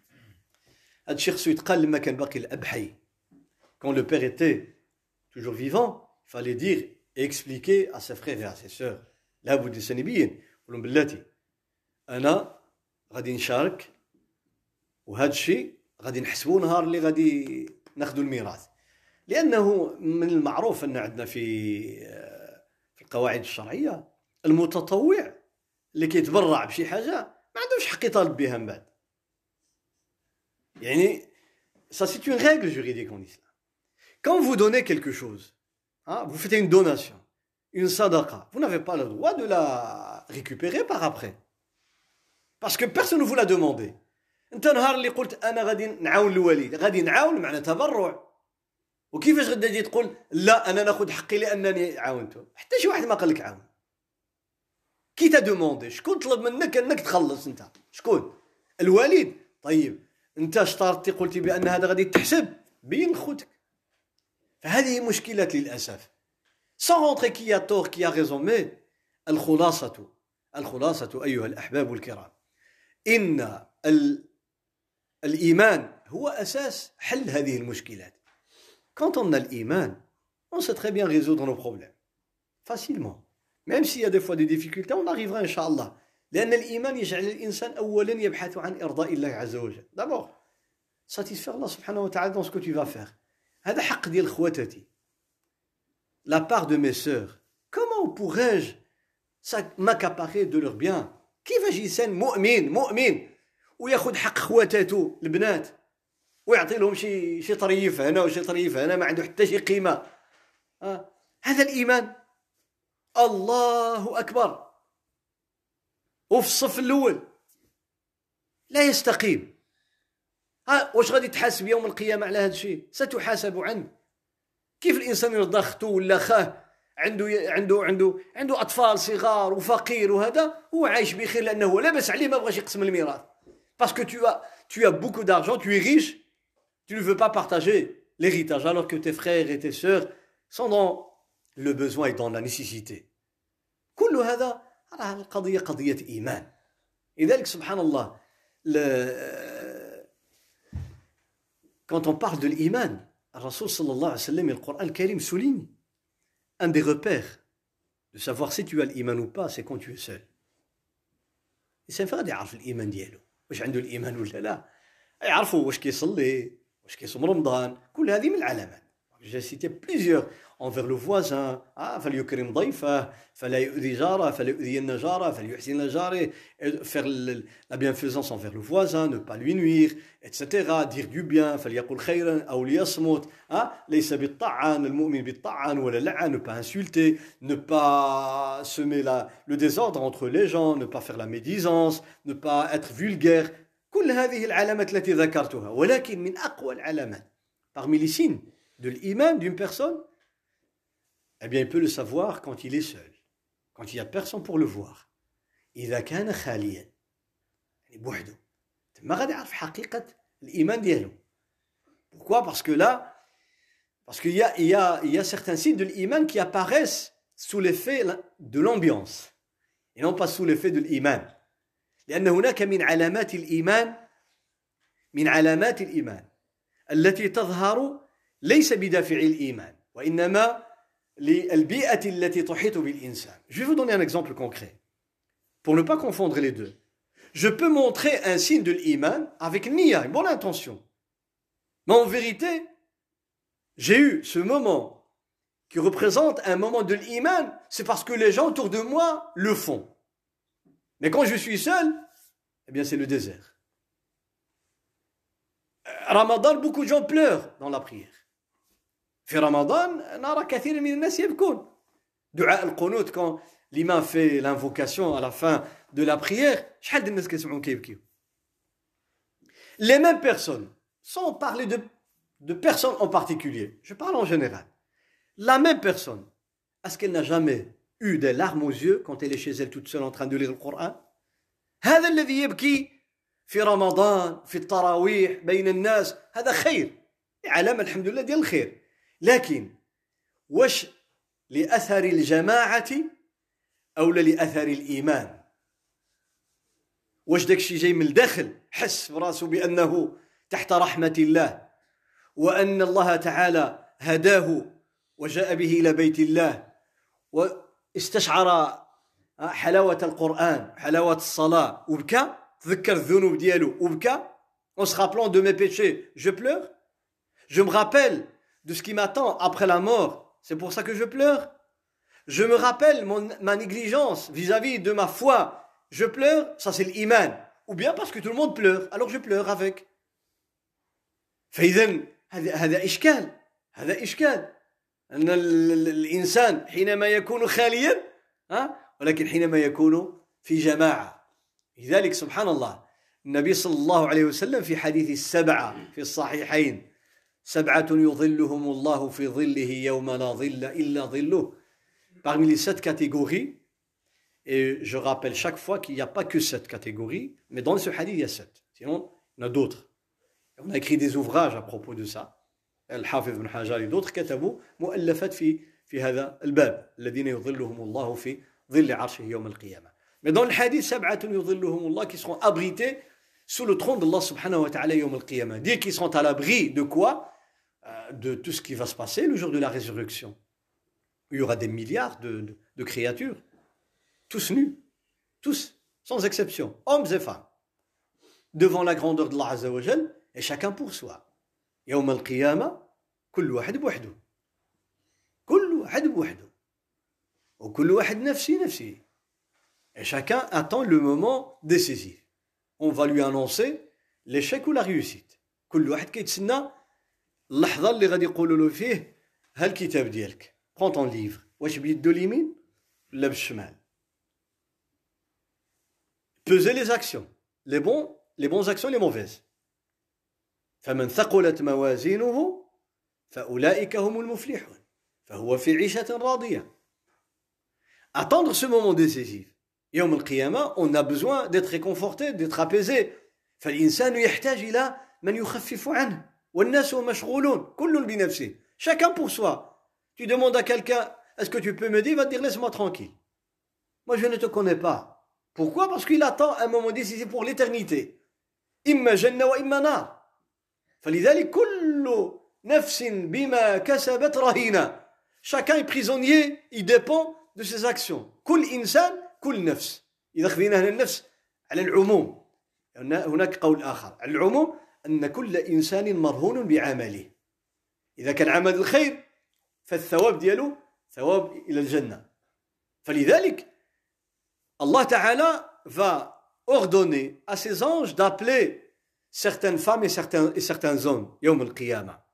هذا الشيء خصو يتقال لما كان باقي الأب حي. Quand le père était toujours vivant, il fallait dire et expliquer à ses frères et à ses sœurs. لابد يسنبين. يقول لهم بلاتي أنا غادي نشارك وهذا الشيء غادي نحسبوه نهار اللي غادي ناخذوا الميراث. لأنه من المعروف أن عندنا في في القواعد الشرعية المتطوع اللي كيتبرع بشي حاجة ما عندوش حق يطالب بها من بعد. يعني ça c'est une règle juridique en islam. Quand vous donnez quelque chose, hein, vous faites une donation, une sadaqa, vous n'avez pas le droit de la récupérer par après. Parce que personne ne vous l'a demandé. انت نهار اللي قلت انا غادي نعاون الوالد غادي نعاون معنى تبرع. وكيفاش غادي تجي تقول لا انا ناخذ حقي لانني عاونته؟ حتى شي واحد ما قال لك عاون. كي تا دوموندي شكون طلب منك انك تخلص؟ انت شكون؟ الوالد. طيب انت اشترطتي قلتي بان هذا غادي تحسب بين خوتك. فهذه مشكلة للاسف. sans rentrer qui a tort qui a raison, mais الخلاصة الخلاصة أيها الأحباب الكرام إن الإيمان هو أساس حل هذه المشكلات. Quand on a l'Iman, on sait très bien résoudre nos problèmes. Facilement. Même s'il y a des fois des difficultés, on arrivera Inch'Allah. لأن الإيمان يجعل الإنسان أولا يبحث عن إرضاء الله عز وجل. D'abord, satisfaire Allah subhanahu wa ta'ala dans ce que tu vas faire. هذا حق ديال خواتاتي. La part de mes sœurs. Comment pourrais-je m'accaparer de leurs biens? كيفاش إنسان مؤمن مؤمن وياخذ حق خواتاتو البنات ويعطي لهم شي شي طريف هنا وشي طريف هنا ما عنده حتى شي قيمة. آه. هذا الإيمان. الله أكبر. وفي الصف الأول لا يستقيم. ها واش غادي تحاسب يوم القيامة على هذا الشيء؟ ستحاسب عنه. كيف الإنسان يرضى أخته ولا خاه عنده عنده عنده عنده أطفال صغار وفقير وهذا هو عايش بخير لأنه لاباس عليه ما بغاش يقسم الميراث. Parce que tu as tu as beaucoup d'argent, tu es riche, tu ne veux pas partager l'héritage alors que tes frères et tes sœurs sont dans le besoin et dans la nécessité. كل هذا راه القضية قضية إيمان. لذلك سبحان الله quand on parle de l'Iman, Rasul sallallahu alayhi wa sallam et le Coran al-Karim souligne un des repères de savoir si tu as l'Iman ou pas, c'est quand tu es seul. الإنسان فقد يعرف الإيمان ديالو واش عنده الإيمان ولا لا. يعرفوا واش كيصلي واش كيصوم رمضان. كل هذه من العلامات. J'ai cité plusieurs envers le voisin. Ah, فليكرم ضيفه فلا يؤذي جاره فلا يؤذين جاره فليحسن إلى جاره. Faire la bienfaisance envers le voisin, ne pas lui nuire, et cetera. Dire du bien. فليقل خيرا أو ليصمت. Ah, ليس بالطعان المؤمن بالطعان ولا لعن. Ne pas insulter, ne pas semer la, le désordre entre les gens, ne pas faire la médisance, ne pas être vulgaire. كل هذه العلامات التي ذكرتها. ولكن من أقوى العلامات parmi les signes de l'iman d'une personne, eh bien il peut le savoir quand il est seul, quand il n'y a personne pour le voir. إذا كان خاليا يعني بوحده ما غادي يعرف حقيقة الإيمان ديالو. Pourquoi? Parce que là, parce qu'il y a, il y a, il y a certains signes de l'iman qui apparaissent sous l'effet de l'ambiance et non pas sous l'effet de l'iman. لأن هناك من علامات الإيمان من علامات الإيمان التي تظهر ليس بدافع الإيمان وإنما للبيئة التي تحيط بالإنسان. Je vais vous donner un exemple concret pour ne pas confondre les deux. Je peux montrer un signe de l'iman avec niya, une bonne intention. Mais en vérité, j'ai eu ce moment qui représente un moment de l'iman, c'est parce que les gens autour de moi le font. Mais quand je suis seul, eh bien c'est le désert. Ramadan, beaucoup de gens pleurent dans la prière. في رمضان نرى كثير من الناس يبكون. دعاء القنوت quand l'imam fait l'invocation à la fin de la prière, شحال د الناس كيسمعون كيبكيو. Les mêmes personnes, sans parler de, de personnes en particulier, je parle en général. La même personne, est-ce qu'elle n'a jamais eu des larmes aux yeux quand elle est chez elle toute seule en train de lire le Coran? هذا الذي يبكي في رمضان في التراويح بين الناس هذا خير، علامة الحمد لله ديال الخير. لكن واش لأثر الجماعة أو لأثر الإيمان؟ واش داكشي جاي من الداخل حس براسو بأنه تحت رحمة الله وأن الله تعالى هداه وجاء به إلى بيت الله واستشعر حلاوة القرآن حلاوة الصلاة وبكى تذكر الذنوب ديالو وبكى en se rappelant de mes péchés je pleure, je me rappelle de ce qui m'attend après la mort, c'est pour ça que je pleure, je me rappelle mon, ma négligence vis-à-vis de ma foi, je pleure, ça c'est l'iman, ou bien parce que tout le monde pleure, alors je pleure avec. فإذن هذا هذا إشكال هذا إشكال أن الإنسان حينما يكون خاليا ها ولكن حينما يكون في جماعة. لذلك سبحان الله النبي صلى الله عليه وسلم في حديث السبعة في الصحيحين سبعة يظلهم الله في ظله يوم لا ظل إلا ظله. Parmi les sept catégories, et je rappelle chaque fois qu'il n'y a pas que sept catégories, mais dans ce hadith il y a sept. Sinon, il y en a d'autres. On a écrit des ouvrages à propos de ça. Al-Hafiz ibn Hajar et d'autres كتبوا مؤلفات في في هذا الباب الذين يظلهم الله في ظل عرشه يوم القيامة. Mais dans le hadith سبعة يظلهم الله qui seront abrités sous le trône d'Allah subhanahu wa ta'ala يوم القيامة. Dire qu'ils seront à l'abri de quoi? De tout ce qui va se passer le jour de la résurrection. Il y aura des milliards de, de, de créatures, tous nus, tous, sans exception, hommes et femmes, devant la grandeur de Allah Azza wa Jal, et chacun pour soi. يوم القيامة كل واحد بوحده كل واحد بوحده وكل واحد نفسي نفسي. Et chacun attend le moment décisif. On va lui annoncer l'échec ou la réussite. كل واحد كيتسنى اللحظة اللي غادي يقولوا له فيه ها الكتاب ديالك. Prends ton livre. واش بيدو اليمين ولا بالشمال؟ Peser les actions, les bons, les bonnes actions, les mauvaises. فمن ثقلت موازينه فأولئك هم المفلحون فهو في عيشة راضية. Attendre ce moment décisif. يوم القيامة, on a besoin d'être réconforté, d'être apaisé. فالإنسان يحتاج إلى من يخفف عنه. والناس مشغولون كل بنفسه. Chacun pour soi. Tu demandes à quelqu'un, est-ce que tu peux m'aider? Il va te dire, laisse-moi tranquille. Moi, je ne te connais pas. Pourquoi? Parce qu'il attend un moment décisif pour l'éternité. إما جنة وإما نار. فلذلك كل نفس بما كسبت رهينة. Chacun est prisonnier, il dépend de ses actions. كل إنسان كل نفس. إذا خذينا هنا النفس على العموم. هناك قول آخر. على العموم أن كل إنسان مرهون بعمله. إذا كان عمل الخير فالثواب ديالو ثواب إلى الجنة. فلذلك Allah Ta'ala va ordonner à ses anges d'appeler certaines femmes et certains, et certains hommes يوم القيامة.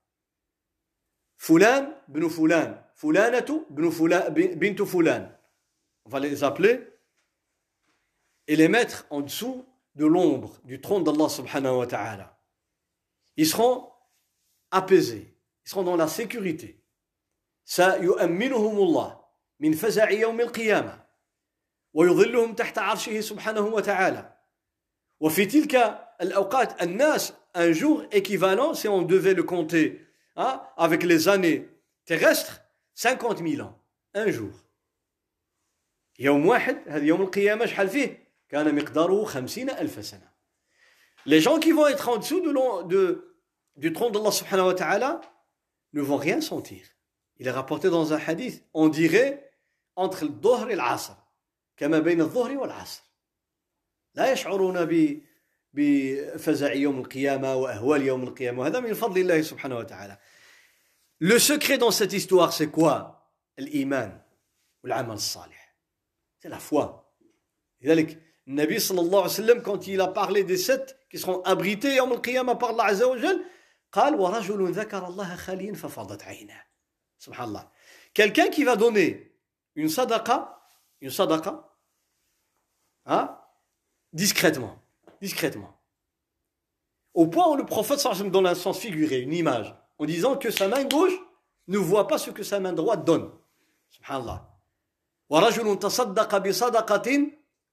فلان بن فلان فلانة بن فلان بنت فلان. On va les appeler et les mettre en dessous de l'ombre du trône d'Allah subhanahu wa ta'ala. Ils seront apaisés, ils seront dans la sécurité. سيؤمنهم الله من فزع يوم القيامة ويظلهم تحت عرشه سبحانه وتعالى. وفي تلك al-awqat, al-nas, un jour équivalent, si on devait le compter hein, avec les années terrestres, cinquante mille ans, un jour. يوم واحد هذا يوم القيامة شحال فيه كان مقداره خمسين ألف سنة. Les gens qui vont être en dessous de, de, du trône d'Allah subhanahu wa ta'ala ne vont rien sentir. Il est rapporté dans un hadith, on dirait entre le dhuhr et l'asr, كما بين الظهر والعصر. لا يشعرون بفزع يوم القيامة وأهوال يوم القيامة. وهذا من فضل الله سبحانه وتعالى. Le secret dans cette histoire, c'est quoi? L'iman ou l'amal salih. C'est la foi. لذلك النبي صلى الله عليه وسلم quand il a parlé des sept qui seront abrités يوم القيامة par Allah عز وجل قال ورجل ذكر الله خاليا ففاضت عيناه. Subhanallah. Quelqu'un qui va donner une sadaqa, une sadaqa, hein, discrètement, discrètement. Au point où le prophète sallallahu alayhi wa sallam donne un sens figuré, une image, en disant que sa main gauche ne voit pas ce que sa main droite donne. Subhanallah. ورجل تصدق بصدقة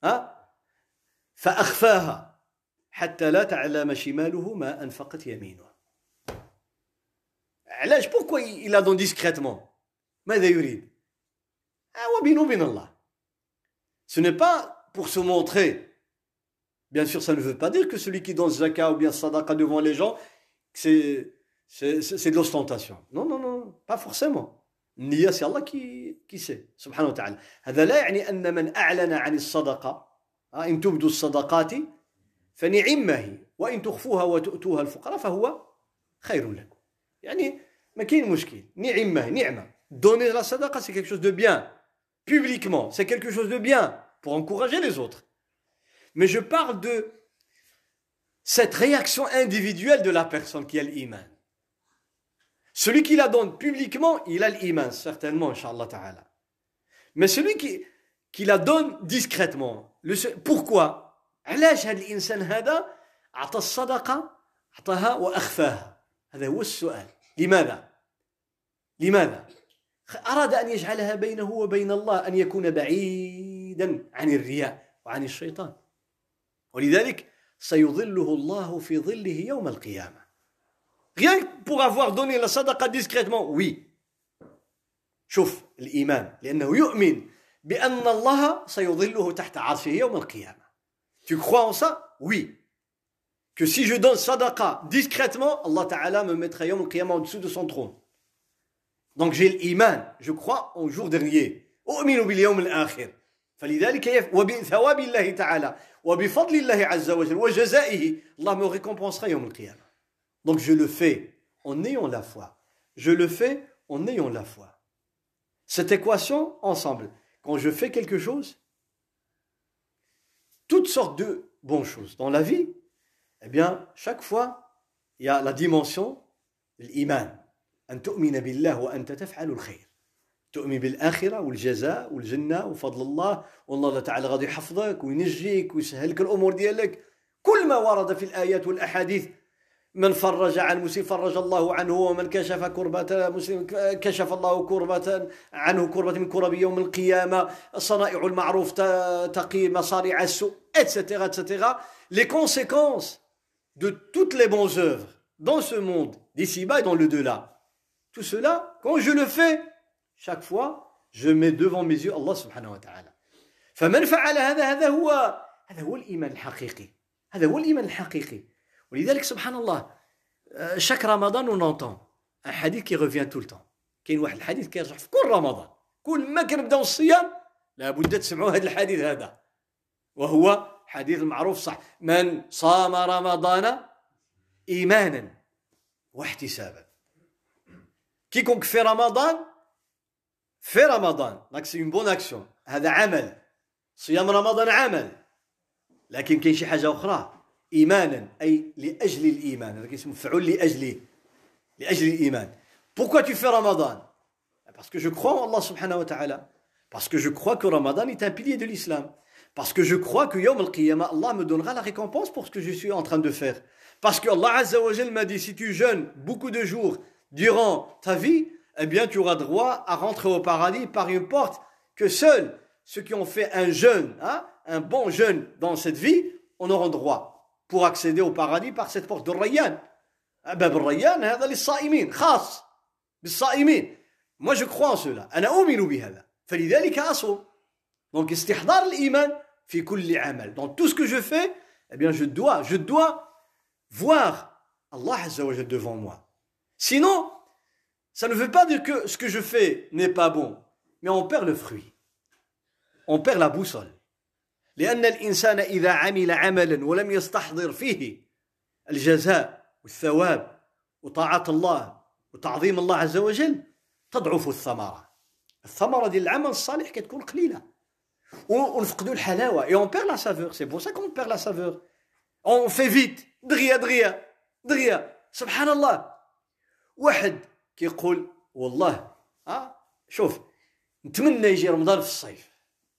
فأخفاها حتى لا تعلم شماله ما أنفقت يمينه. علاش pourquoi il la donne discrètement? ماذا يريد؟ وبينه وبين الله. Ce n'est pas pour se montrer. Bien sûr, ça ne veut pas dire que celui qui donne zakat ou bien sadaqa devant les gens, c'est, c'est, c'est de l'ostentation. Non, non, non, pas forcément. Niya, c'est Allah qui, qui sait, subhanahu wa ta'ala. هذا لا يعني أن من أعلن عن الصدقة إن تبدوا الصدقات فنعمة هي وإن تخفوها وتؤتوها الفقراء فهو خير لكم. يعني ما كاين مشكل. نعمة نعمة. Donner la sadaqa, c'est quelque chose de bien. Publiquement, c'est quelque chose de bien pour encourager les autres. Mais je parle de cette réaction individuelle de la personne qui a l'iman. Celui qui la donne publiquement, il a l'iman, certainement, Inch'Allah Ta'ala. Mais celui qui, qui la donne discrètement, le, pourquoi? علاش هذا الإنسان هذا أعطى الصدقة أعطاها وأخفاها؟ هذا هو السؤال. لماذا؟ لماذا؟ أراد أن يجعلها بينه وبين الله أن يكون بعيدا عن الرياء وعن الشيطان. ولذلك سيظله الله في ظله يوم القيامة. Rien que pour avoir donné la sadaqa discrètement, oui. شوف الإيمان لأنه يؤمن بأن الله سيظله تحت عرشه يوم القيامة. Tu crois en ça? Oui. Que si je donne sadaqa discrètement, Allah Ta'ala me mettra يوم القيامة en dessous de son trône. Donc j'ai l'iman, je crois au jour dernier. أؤمن باليوم الآخر. فلذلك وبثواب الله تعالى وبفضل الله عز وجل وجزائه الله me récompensera يوم القيامة. Donc je le fais en ayant la foi. Je le fais en ayant la foi. Cette équation ensemble, quand je fais quelque chose, toutes sortes de bonnes choses dans la vie, eh bien chaque fois il y a la dimension de l'iman. أن تؤمن بالله وأنت تفعل الخير. تؤمن بالآخرة والجزاء والجنة وفضل الله والله تعالى غادي يحفظك وينجيك ويسهل لك الأمور ديالك. كل ما ورد في الآيات والأحاديث من فرج عن مسلم فرج الله عنه ومن كشف كربة مسلم كشف الله كربة عنه كربة من كرب يوم القيامة. صنائع المعروف تقي مصارع السوء et cetera et cetera. Les conséquences de toutes les bonnes œuvres dans ce monde d'ici-bas et dans le delà. Tout cela, quand je le fais, chaque fois, je mets devant mes yeux Allah subhanahu wa ta'ala. فمن فعل هذا هذا هو هذا هو الإيمان الحقيقي. هذا هو الإيمان الحقيقي. ولذلك سبحان الله chaque رمضان on entend un hadith qui revient tout le temps. كاين واحد الحديث كيرجع في كل رمضان. كل ما كنبداو الصيام لابد تسمعوا هذا الحديث هذا. وهو حديث المعروف صح. من صام رمضان إيمانا واحتسابا. Quiconque fait Ramadan, fait Ramadan. Donc c'est une bonne action. هذا عمل. صيام رمضان عمل. لكن كاين شي حاجة أخرى. إيمانا أي لأجل الإيمان. هذا كيسمى فعل لأجله. لأجل الإيمان. Pourquoi tu fais Ramadan? Parce que je crois en Allah subhanahu wa ta'ala. Parce que je crois que Ramadan est un pilier de l'islam. Parce que je crois que Yawm al-Qiyamah, Allah me donnera la récompense pour ce que je suis en train de faire. Parce que Allah Azza wa Jal m'a dit, si tu jeûnes beaucoup de jours durant ta vie, eh bien tu auras droit à rentrer au paradis par une porte que seuls ceux qui ont fait un jeûne, hein, un bon jeûne dans cette vie, en auront droit. pour accéder au paradis par cette porte de Rayyan. باب الريان هذا للصائمين خاص بالصائمين. Moi je crois en cela. أنا أؤمن بهذا. فلذلك أصوم. Donc استحضار الإيمان في كل عمل. Dans tout ce que je fais, eh bien je dois, je dois voir Allah Azza wa Jalla devant moi. Sinon, ça ne veut pas dire que ce que je fais n'est pas bon, mais on perd le fruit. On perd la boussole. لأن الإنسان إذا عمل عملا ولم يستحضر فيه الجزاء والثواب وطاعة الله وتعظيم الله عز وجل تضعف الثمرة. الثمرة ديال العمل الصالح كتكون قليلة. ونفقدوا الحلاوة. Et on perd la saveur. C'est pour ça qu'on perd la saveur. On fait vite. دغيا دغيا دغيا. سبحان الله. واحد كيقول والله ها شوف نتمنى يجي رمضان في الصيف.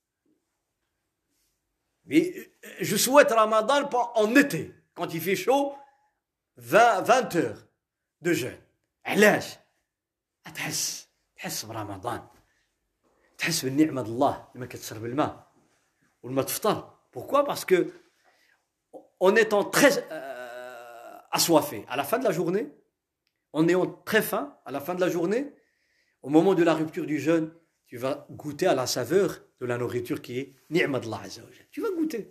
Je souhaite Ramadan en été, quand il fait chaud, vingt, vingt heures de jeûne. علاش؟ تحس تحس برمضان. تحس بالنعمة الله لما كتشرب الماء ولما تفطر. Pourquoi? Parce que en étant très euh, assoiffé à la fin de la journée, en ayant très faim à la fin de la journée, au moment de la rupture du jeûne, tu vas goûter à la saveur de la nourriture qui est ni'ma d'Allah Azza wa Jalla. Tu vas goûter.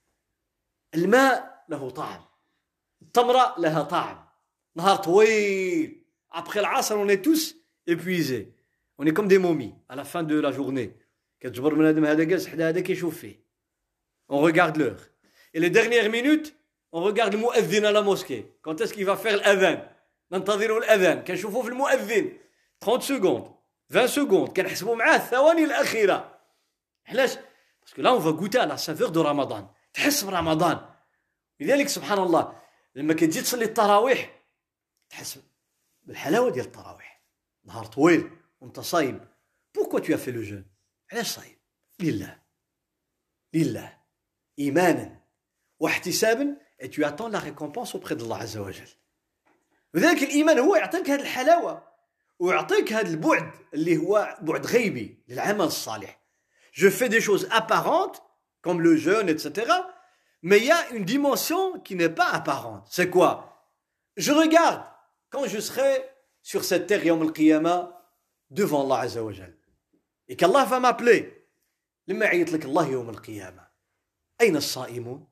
الماء له طعم. التمرة لها طعم. نهار طويل. Après العصر, on est tous épuisés. On est comme des momies à la fin de la journée. كتجبر من هذا هذا جالس حدا هذا كيشوف فيه. On regarde l'heure. Et les dernières minutes, on regarde le mu'adhin à la mosquée. Quand est-ce qu'il va faire l'adhan? ننتظر الأذان. كنشوفوه في المؤذن. trente secondes. vingt secondes. كنحسبوا معاه الثواني الأخيرة. علاش؟ Parce que là, on va goûter à la saveur de Ramadan. تحس برمضان. لذلك سبحان الله لما كتجي تصلي التراويح تحس بالحلاوة ديال التراويح. نهار طويل وانت صايم. Pourquoi tu as fait le jeûne? علاش صايم؟ لله. لله. إيمانا واحتسابا et tu attends la récompense auprès d'Allah Azza wa Jalla. لذلك الإيمان هو يعطيك هذه الحلاوة ويعطيك هذا البعد اللي هو بعد غيبي للعمل الصالح. Je fais des choses apparentes comme le jeûne, et cetera. Mais il y a une dimension qui n'est pas apparente. C'est quoi? Je regarde quand je serai sur cette terre Yawm al-Qiyamah devant Allah Azza wa Jalla. Et qu'Allah va m'appeler. لما يعيط لك الله يوم القيامة. أين الصائمون?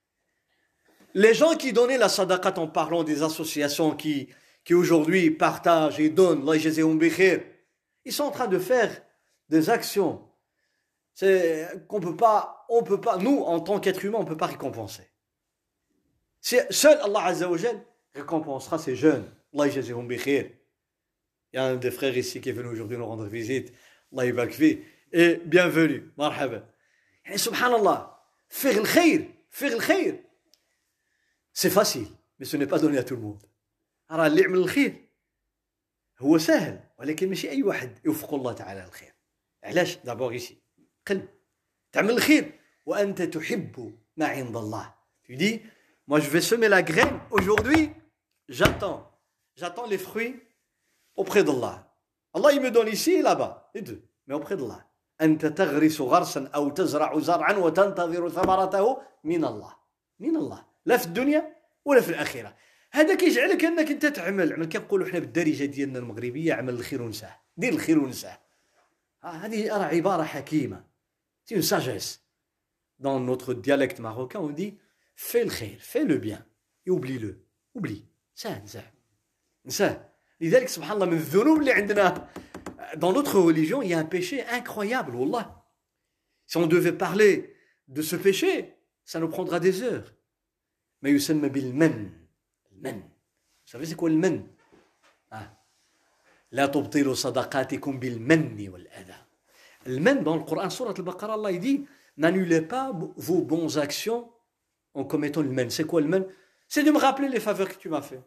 Les gens qui donnaient la sadaqat en parlant des associations qui, qui aujourd'hui partagent et donnent, Allah yajzihum bi khair, ils sont en train de faire des actions c'est qu'on peut pas, on peut pas, nous en tant qu'être humain, on peut pas récompenser. C'est, seul Allah Azza wa Jal récompensera ces jeunes. Allah yajzihum bi khair. Il y a un des frères ici qui est venu aujourd'hui nous rendre visite. Allah ybarak fi et bienvenue. Marhaba. Et subhanallah, faire le khair, faire le khair. C'est facile, mais ce n'est pas donné à tout le monde. راه اللي يعمل الخير هو سهل ولكن ماشي أي واحد يوفق الله تعالى الخير. علاش؟ d'abord ici قلب تعمل الخير وأنت تحب ما عند الله. Tu dis, moi je vais semer la graine aujourd'hui, j'attends, j'attends les fruits auprès d'Allah. Allah il me donne ici et là-bas, les deux, mais auprès d'Allah. أنت تغرس غرسا أو تزرع زرعا وتنتظر ثمرته من الله. من الله. لا في الدنيا ولا في الآخرة. هذا كيجعلك أنك أنت تعمل عمل كنقولوا حنا بالدارجة ديالنا المغربية عمل الخير ونساه. دير الخير ونساه. هذه راه عبارة حكيمة. C'est une sagesse. Dans notre dialecte marocain, on dit fais le khair, fais le bien et oublie-le. Oublie. Ça, ça. Ça. لذلك سبحان الله من الذنوب اللي عندنا dans notre religion, il y a un péché incroyable, wallah. Si on devait parler de ce péché, ça nous prendra des heures. ما يسمى بالمن. المن. Vous savez c'est quoi le men? Ah. لا تبطلوا صدقاتكم بالمن والأذى. Le men dans le Coran, Surat al-Baqarah, Allah il dit n'annulez pas vos bonnes actions en commettant le men. C'est quoi le men? C'est de me rappeler les faveurs que tu m'as fait.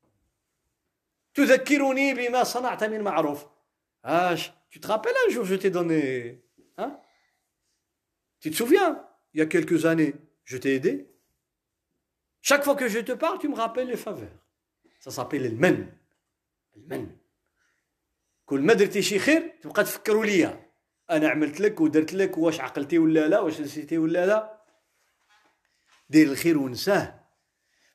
تذكرني بما صنعت من معروف. Ah, tu te rappelles un jour je t'ai donné hein? Tu te souviens? Il y a quelques années, je t'ai aidé. Chaque fois que je te parle, tu me rappelles les faveurs. Ça s'appelle le men. Le men. كل ما درتي شي خير تبقى تفكروا ليا. أنا عملت لك ودرت لك واش عقلتي ولا لا واش نسيتي ولا لا. دير الخير ونساه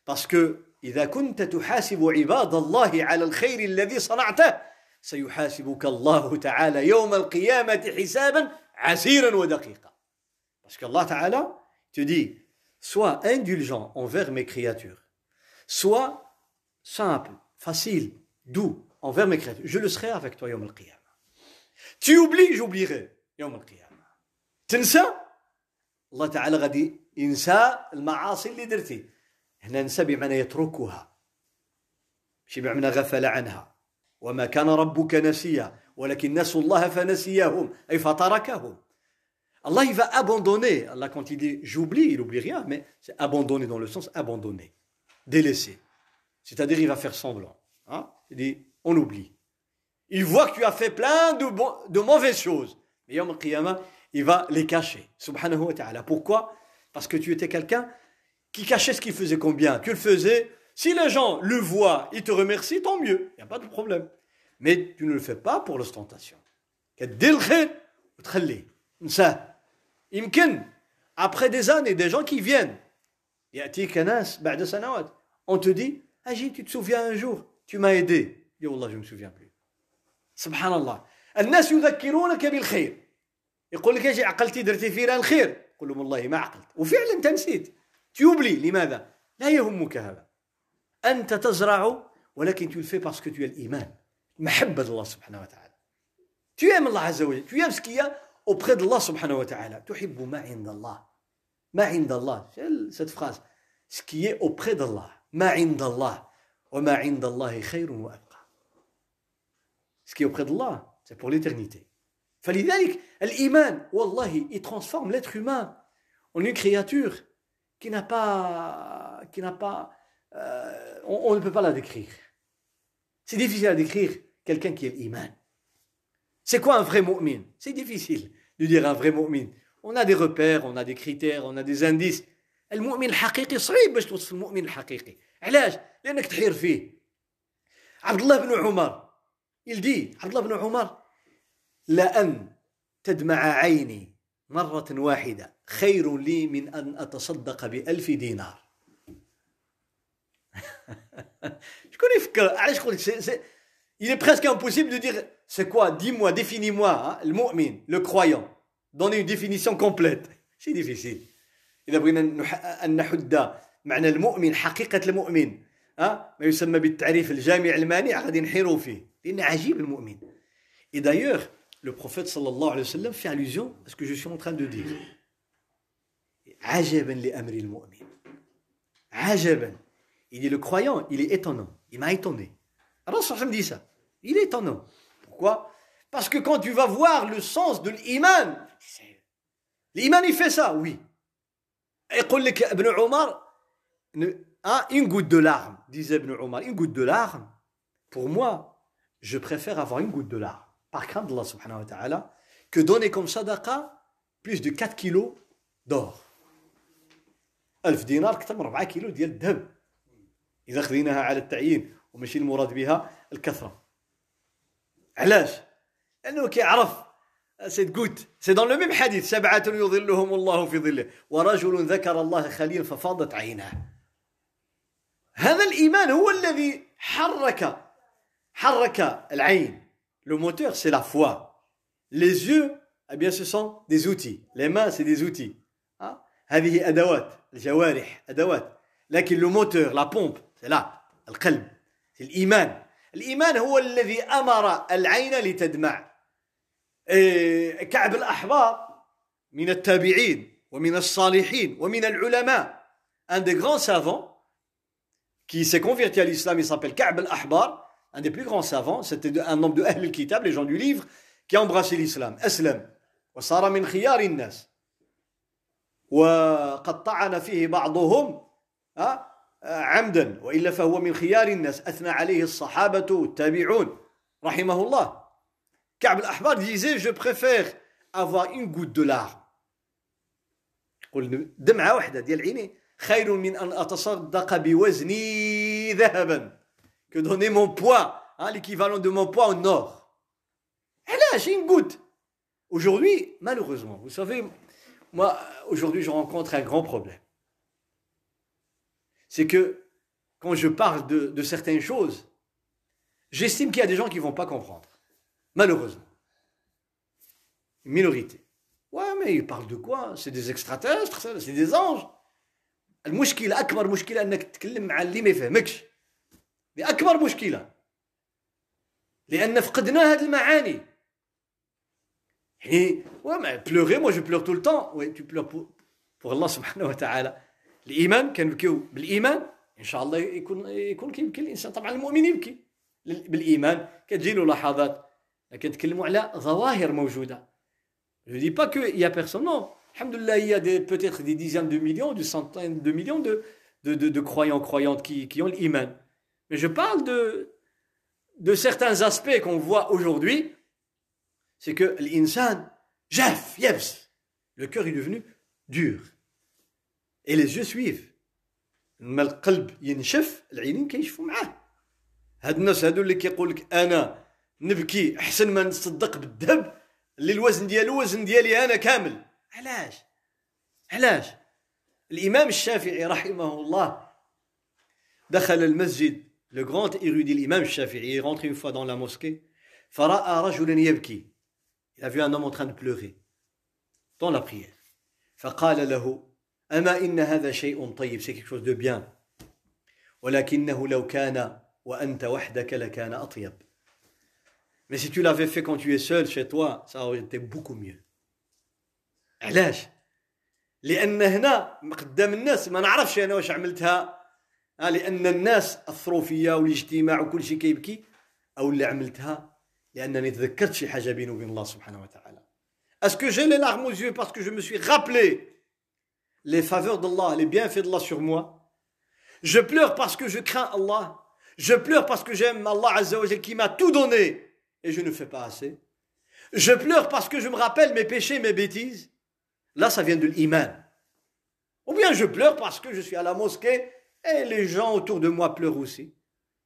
Parce que إذا كنت تحاسب عباد الله على الخير الذي صنعته سيحاسبك الله تعالى يوم القيامة حسابا عسيرا ودقيقا. Parce qu'Allah Ta'ala te dit, sois indulgent envers mes créatures, sois simple, facile, doux envers mes créatures. Je le serai avec toi يوم القيامة. Tu oublies, j'oublierai يوم القيامة. تنسى الله تعالى غادي ينسى المعاصي اللي درتي. هنا ننسى بمعنى يتركها، مش بمعنى غفل عنها. وما كان ربك نسيا ولكن نسوا الله فنسيهم أي فتركهم. Allah il va abandonner. Allah quand il dit j'oublie, il n'oublie rien, mais c'est abandonner dans le sens abandonner, délaisser. C'est-à-dire il va faire semblant. Hein? Il dit on oublie. Il voit que tu as fait plein de, bon, de mauvaises choses. Mais Yom al-Qiyamah, il va les cacher. Subhanahu wa ta'ala. Pourquoi? Parce que tu étais quelqu'un qui cachait ce qu'il faisait combien. Tu le faisais. Si les gens le voient, ils te remercient, tant mieux. Il n'y a pas de problème. Mais tu ne le fais pas pour l'ostentation. Après des années, des gens qui viennent, on te dit, Agis, tu te souviens un jour, tu m'as aidé. Dis, Wallah, je ne me souviens plus. Subhanallah. الناس يذكرونك بالخير. يقول لك اجي عقلتي درتي فينا الخير. قل لهم والله ما عقلت. وفعلا انت نسيت. تيوبلي لماذا؟ لا يهمك هذا. أنت تزرع ولكن tu le fais parce que tu as l'Iman. محبة الله سبحانه وتعالى. Tu aimes Allah عز وجل. Tu aimes ce qu'il y a auprès d'Allah سبحانه وتعالى. تحب ما عند الله. ما عند الله. Cette phrase. Ce qui est auprès d'Allah. ما عند الله. وما عند الله خير وأبقى. Ce qui est auprès d'Allah, c'est pour l'éternité. فلذلك الإيمان والله il transforme l'être humain en une créature qui n'a pas qui n'a pas euh, on, on ne peut pas la décrire. C'est difficile à décrire quelqu'un qui est l'iman. C'est quoi un vrai mu'min? C'est difficile de dire un vrai mu'min. On a des repères, on a des critères, on a des indices. المؤمن الحقيقي صعيب باش توصف المؤمن الحقيقي. علاش؟ لأنك تحير فيه. عبد الله بن عمر il dit عبد الله بن عمر لأن تدمع عيني مرة واحدة خير لي من أن أتصدق بألف دينار. شكون يفكر علاش قلت il est presque impossible de dire c'est quoi, dis-moi, définis-moi hein, le mu'min, le croyant, donner une définition complète. C'est difficile. إذا بغينا أن نحد معنى المؤمن حقيقة المؤمن ها ما يسمى بالتعريف الجامع المانع غادي نحيروا فيه لأن عجيب المؤمن. Et d'ailleurs le prophète sallallahu alayhi wa sallam fait allusion à ce que je suis en train de dire. عجبا لأمر المؤمن. عجبا. Il dit le croyant, il est étonnant. Il m'a étonné. Alors ça me dit ça. Il est étonnant. Pourquoi? Parce que quand tu vas voir le sens de l'iman, l'iman il fait ça, oui. يقول لك ابن عمر ah, une goutte de larme, disait Ibn Omar, une goutte de larme, pour moi, je préfère avoir une goutte de larme, par crainte d'Allah subhanahu wa ta'ala, que donner comme sadaqa plus de quatre kilos d'or. ألف دينار كتر من أربعة كيلو ديال الذهب. إذا خذيناها على التعيين وماشي المراد بها الكثرة. علاش؟ لأنه كيعرف cette goutte. C'est dans le même hadith. سبعة يظلهم الله في ظله ورجل ذكر الله خليلا ففاضت عيناه. هذا الإيمان هو الذي حرك حرك العين. Le moteur c'est la foi. Les yeux, eh bien ce sont des outils. Les mains c'est des outils. Hein? هذه أدوات الجوارح أدوات. لكن le moteur, la pompe, c'est là القلب. C'est الإيمان. الإيمان هو الذي أمر العين لتدمع. كعب الأحبار من التابعين ومن الصالحين ومن العلماء. Un des grands savants qui s'est converti à l'islam, il s'appelle Ka'b al-Ahbar, un des plus grands savants, c'était un homme de Ahl al-Kitab, les gens du livre, qui a embrassé l'islam. Aslam, wa sara min khiyar an-nas. وقد طعن فيه بعضهم عمدا وإلا فهو من خيار الناس أثنى عليه الصحابة والتابعون رحمه الله. Ka'b al-Ahbar disait je préfère avoir une goutte de larmes. يقول دمعة واحدة ديال عيني خير من أن أتصدق بوزني ذهبا que donner mon poids, hein, l'équivalent de mon poids en or. علاش une goutte. Aujourd'hui, malheureusement, vous savez, moi, aujourd'hui, je rencontre un grand problème. C'est que quand je parle de, de certaines choses, j'estime qu'il y a des gens qui ne vont pas comprendre. Malheureusement. Une minorité. Ouais, mais ils parlent de quoi? C'est des extraterrestres, c'est des anges. المشكلة أكبر مشكلة أنك تتكلم مع اللي ما يفهمكش. دي أكبر مشكلة. لأن فقدنا هذه المعاني. يعني ouais, pleurer, moi je pleure tout le temps. Ouais, tu pleures pour, pour Allah subhanahu wa ta'ala. الإيمان كنبكيو بالإيمان إن شاء الله يكون يكون كيبكي الإنسان. طبعا المؤمن يبكي بالإيمان. كتجي له لحظات لكن نتكلموا على ظواهر موجودة. Je ne dis pas qu'il n'y a personne, non. Alhamdoulilah, il y a des, peut-être des dizaines de millions, des centaines de millions de, de, de, de croyants, croyantes qui, qui ont l'iman. Mais je parle de, de certains aspects qu'on voit aujourd'hui. C'est que l'insan, jaf, yabs. Le cœur est devenu dur. Et les yeux suivent. لما القلب ينشف العينين كيشفوا معاه. هاد الناس هادو اللي كيقول لك انا نبكي احسن ما نصدق بالذهب اللي الوزن ديالو وزن ديالي انا كامل. علاش علاش الامام الشافعي رحمه الله دخل المسجد le grand érudit l'imam الشافعي est rentré une fois dans la mosquée فراى رجلا يبكي. Il a vu un homme en train de pleurer dans la prière. فقال له أما إن هذا شيء طيب, c'est quelque chose de bien. ولكنه لو كان وأنت وحدك لكان أطيب. Mais si tu l'avais fait quand tu es seul chez toi, ça aurait été beaucoup mieux. علاش؟ لأن هنا قدام الناس ما نعرفش أنا واش عملتها. لأن الناس أثروا فيا والاجتماع وكل شيء كيبكي. أو اللي عملتها لأنني تذكرت شي حاجة بيني وبين الله سبحانه وتعالى. Est-ce que j'ai les larmes aux yeux parce que je me suis rappelé les faveurs d'Allah, les bienfaits d'Allah sur moi? Je pleure parce que je crains Allah. Je pleure parce que j'aime Allah Azza wa Jal qui m'a tout donné et je ne fais pas assez. Je pleure parce que je me rappelle mes péchés, mes bêtises. Là, ça vient de l'iman. Ou bien je pleure parce que je suis à la mosquée et les gens autour de moi pleurent aussi.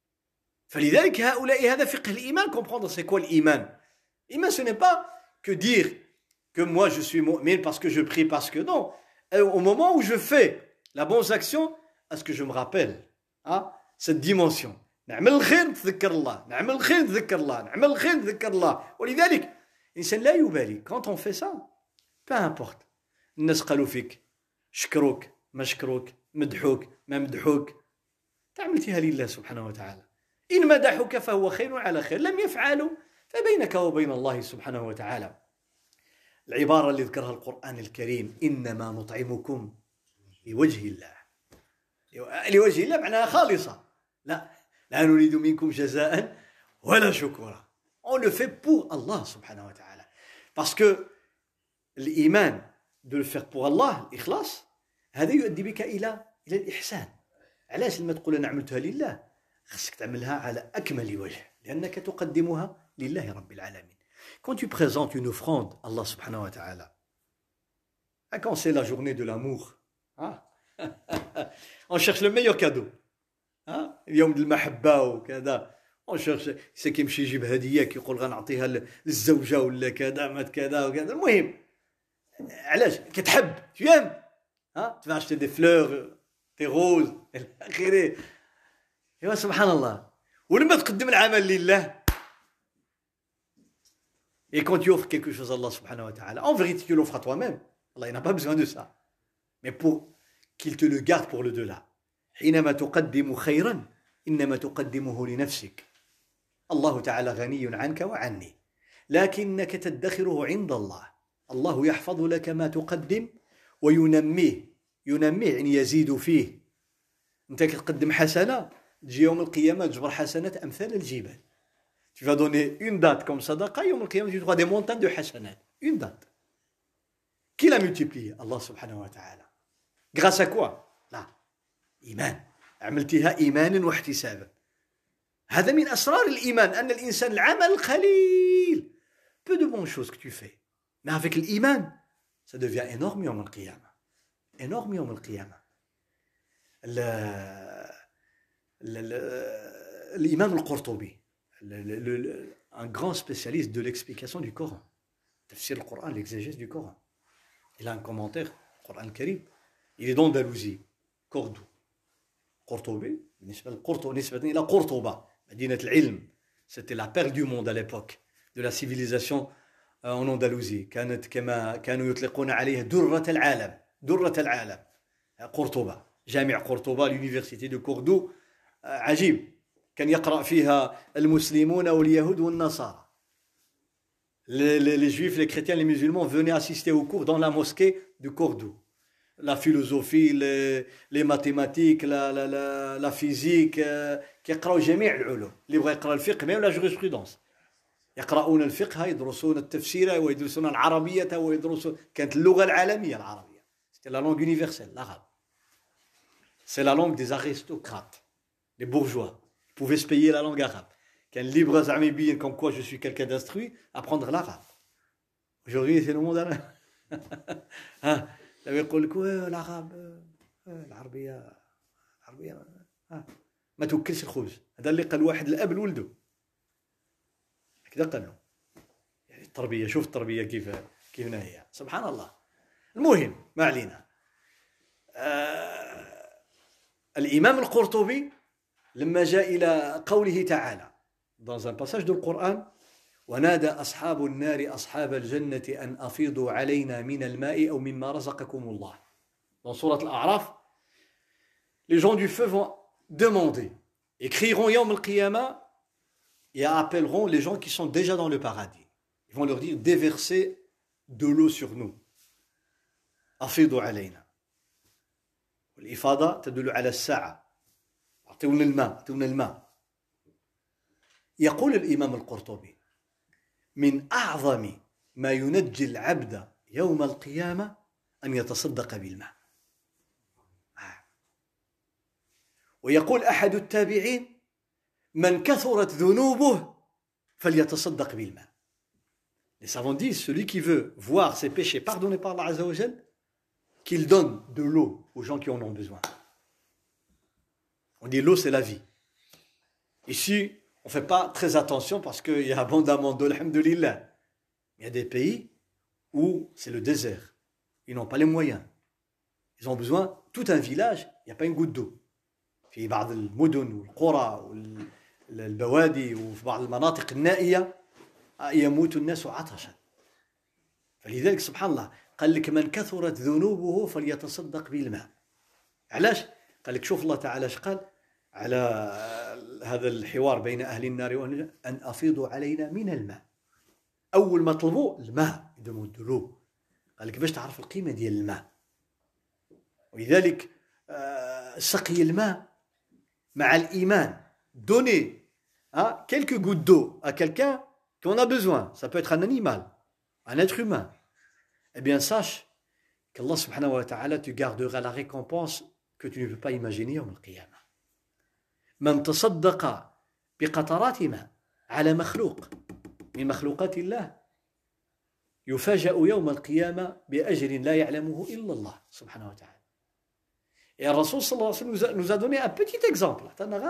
فلذلك هؤلاء هذا فقه الإيمان. Comprendre c'est quoi l'iman. L'iman, ce n'est pas que dire que moi je suis mu'min parce que je prie, parce que non. Au moment où je fais la bonne action, est-ce que je me rappelle hein, cette dimension. نعمل الخير نتذكر الله, نعمل الخير نتذكر الله, نعمل الخير نتذكر الله. ولذلك الإنسان لا يبالي. Quand on fait ça, peu importe. الناس قالوا فيك شكروك ما شكروك, مدحوك ما مدحوك, تعملتها لله سبحانه وتعالى. إن مدحوك فهو خير على خير, لم يفعلوا فبينك وبين الله سبحانه وتعالى. العبارة اللي ذكرها القرآن الكريم إنما نطعمكم لوجه الله. لوجه الله معناها خالصة. لا لا نريد منكم جزاء ولا شكورا. On le fait pour Allah subhanahu wa ta'ala. Parce que l'Iman, de le faire pour Allah, l'Ikhlas, هذا يؤدي بك إلى إلى الإحسان. علاش لما تقول أنا عملتها لله خصك تعملها على أكمل وجه لأنك تقدمها لله رب العالمين. Quand tu présentes une offrande, Allah subhanahu wa ta'ala, quand c'est la journée de l'amour, hein, on cherche le meilleur cadeau. اليوم ديال المحبة وكذا, on cherche c'est كيمشي يجيب هدية كيقول غنعطيها للزوجة ولا كذا ما كذا وكذا. المهم علاش كتحب tu aimes, hein, tu vas acheter des fleurs, des roses إلى آخره. ايوا سبحان الله. ولما تقدم العمل لله et quand tu offres quelque chose à Allah subhanahu wa ta'ala, en vérité tu l'offres à toi-même. Allah n'a pas besoin de ça, mais pour qu'il te le garde pour le delà. حينما تقدم خيرا إنما تقدمه لنفسك. الله تعالى غني عنك وعني لكنك تدخره عند الله. الله يحفظ لك ما تقدم وينميه. ينميه يعني يزيد فيه. أنت تقدم حسنة تجي يوم القيامة تجبر حسنات أمثال الجبال. Tu vas donner une date comme sadaqa, يوم القيامة tu auras des montagnes de hasanat. Une date. Qui l'a multiplié? Allah subhanahu wa ta'ala. Grâce à quoi? Là. إيمان. عملتها إيمانا واحتسابا. هذا من أسرار الإيمان أن الإنسان العمل القليل peu de bonnes choses que tu fais mais avec l'إيمان ça devient énorme يوم القيامة. énorme يوم القيامة. الإمام القرطبي un grand spécialiste de l'explication du Coran, tafsir le Coran, l'exégèse du Coran, il a un commentaire Coran al-Karim. Il est d'Andalousie, Cordoue. قرطبي بالنسبة للقرطبة بالنسبة إلى قرطبة مدينة العلم. C'était la perle du monde à l'époque de la civilisation en Andalousie. كانت كما كانوا يطلقون عليها درة العالم درة العالم. قرطبة جامع قرطبة l'université de Cordoue عجيب كان يقرأ فيها المسلمون واليهود والنصارى. Les, les, les juifs, les chrétiens, les musulmans venaient assister aux cours dans la mosquée de Cordoue. La philosophie, les, les mathématiques, la, la, la, la physique, كيقراو جميع العلوم. اللي بغى يقرا الفقه même la jurisprudence. يقرؤون الفقه يدرسون التفسير ويدرسون العربية ويدرسون كانت اللغة العالمية العربية. C'était la langue universelle, l'arabe. C'est la langue des aristocrates, les bourgeois. Ils pouvaient se payer la langue arabe. Qu'un libre زعما يبين comme quoi je suis quelqu'un d'instruit, apprendre l'arabe. Aujourd'hui, c'est le monde arabe. ها لو يقول لك العرب العربية العربية ها ما توكلش الخبز. هذا اللي قال واحد الأب لولده. هكذا قال له. يعني التربية شوف التربية كيف كيف هي سبحان الله. المهم ما علينا. آه الإمام القرطبي لما جاء إلى قوله تعالى dans un passage du Coran ونادى أصحاب النار أصحاب الجنة أن أفيضوا علينا من الماء أو مما رزقكم الله. Dans Sourate Al-A'raf, les gens du feu vont demander et crieront Yawm al-Qiyamah et appelleront les gens qui sont déjà dans le paradis. Ils vont leur dire déversez de l'eau sur nous. أفيضوا علينا. والإفاضة تدل على الساعة. أعطونا الماء أعطونا الماء. يقول الإمام القرطبي من أعظم ما ينجي العبد يوم القيامة أن يتصدق بالماء. ويقول أحد التابعين من كثرت ذنوبه فليتصدق بالماء. Les savants disent celui qui veut voir ses péchés pardonnés par Allah Azza wa Jal, qu'il donne de l'eau aux gens qui en ont besoin. On dit l'eau c'est la vie. Ici on ne fait pas très attention parce qu'il y a abondamment d'eau, alhamdoulilah. Il y a des pays où c'est le désert. Ils n'ont pas les moyens. Ils ont besoin, tout un village, il n'y a pas une goutte d'eau. في بعض المدن والقرى والبوادي وفي بعض المناطق النائية يموت الناس عطشا. فلذلك سبحان الله قال لك من كثرت ذنوبه فليتصدق بالماء. علاش؟ قال لك شوف الله تعالى اش قال على هذا الحوار بين أهل النار وأهل أن أفيضوا علينا من الماء. أول ما طلبوا الماء يدموا الدلو. قال لك باش تعرف القيمة ديال الماء. ولذلك سقي الماء مع الإيمان. Donner hein, quelques gouttes d'eau à quelqu'un qu'on a besoin. Ça peut être un animal, un être humain. Eh bien sache qu'Allah subhanahu wa ta'ala te gardera la récompense que tu ne peux pas imaginer يوم القيامة. من تصدق بقطرات ماء على مخلوق من مخلوقات الله يفاجأ يوم القيامة بأجر لا يعلمه إلا الله سبحانه وتعالى. Et le Rasoul sallallahu alayhi wa sallam nous a donné un petit exemple.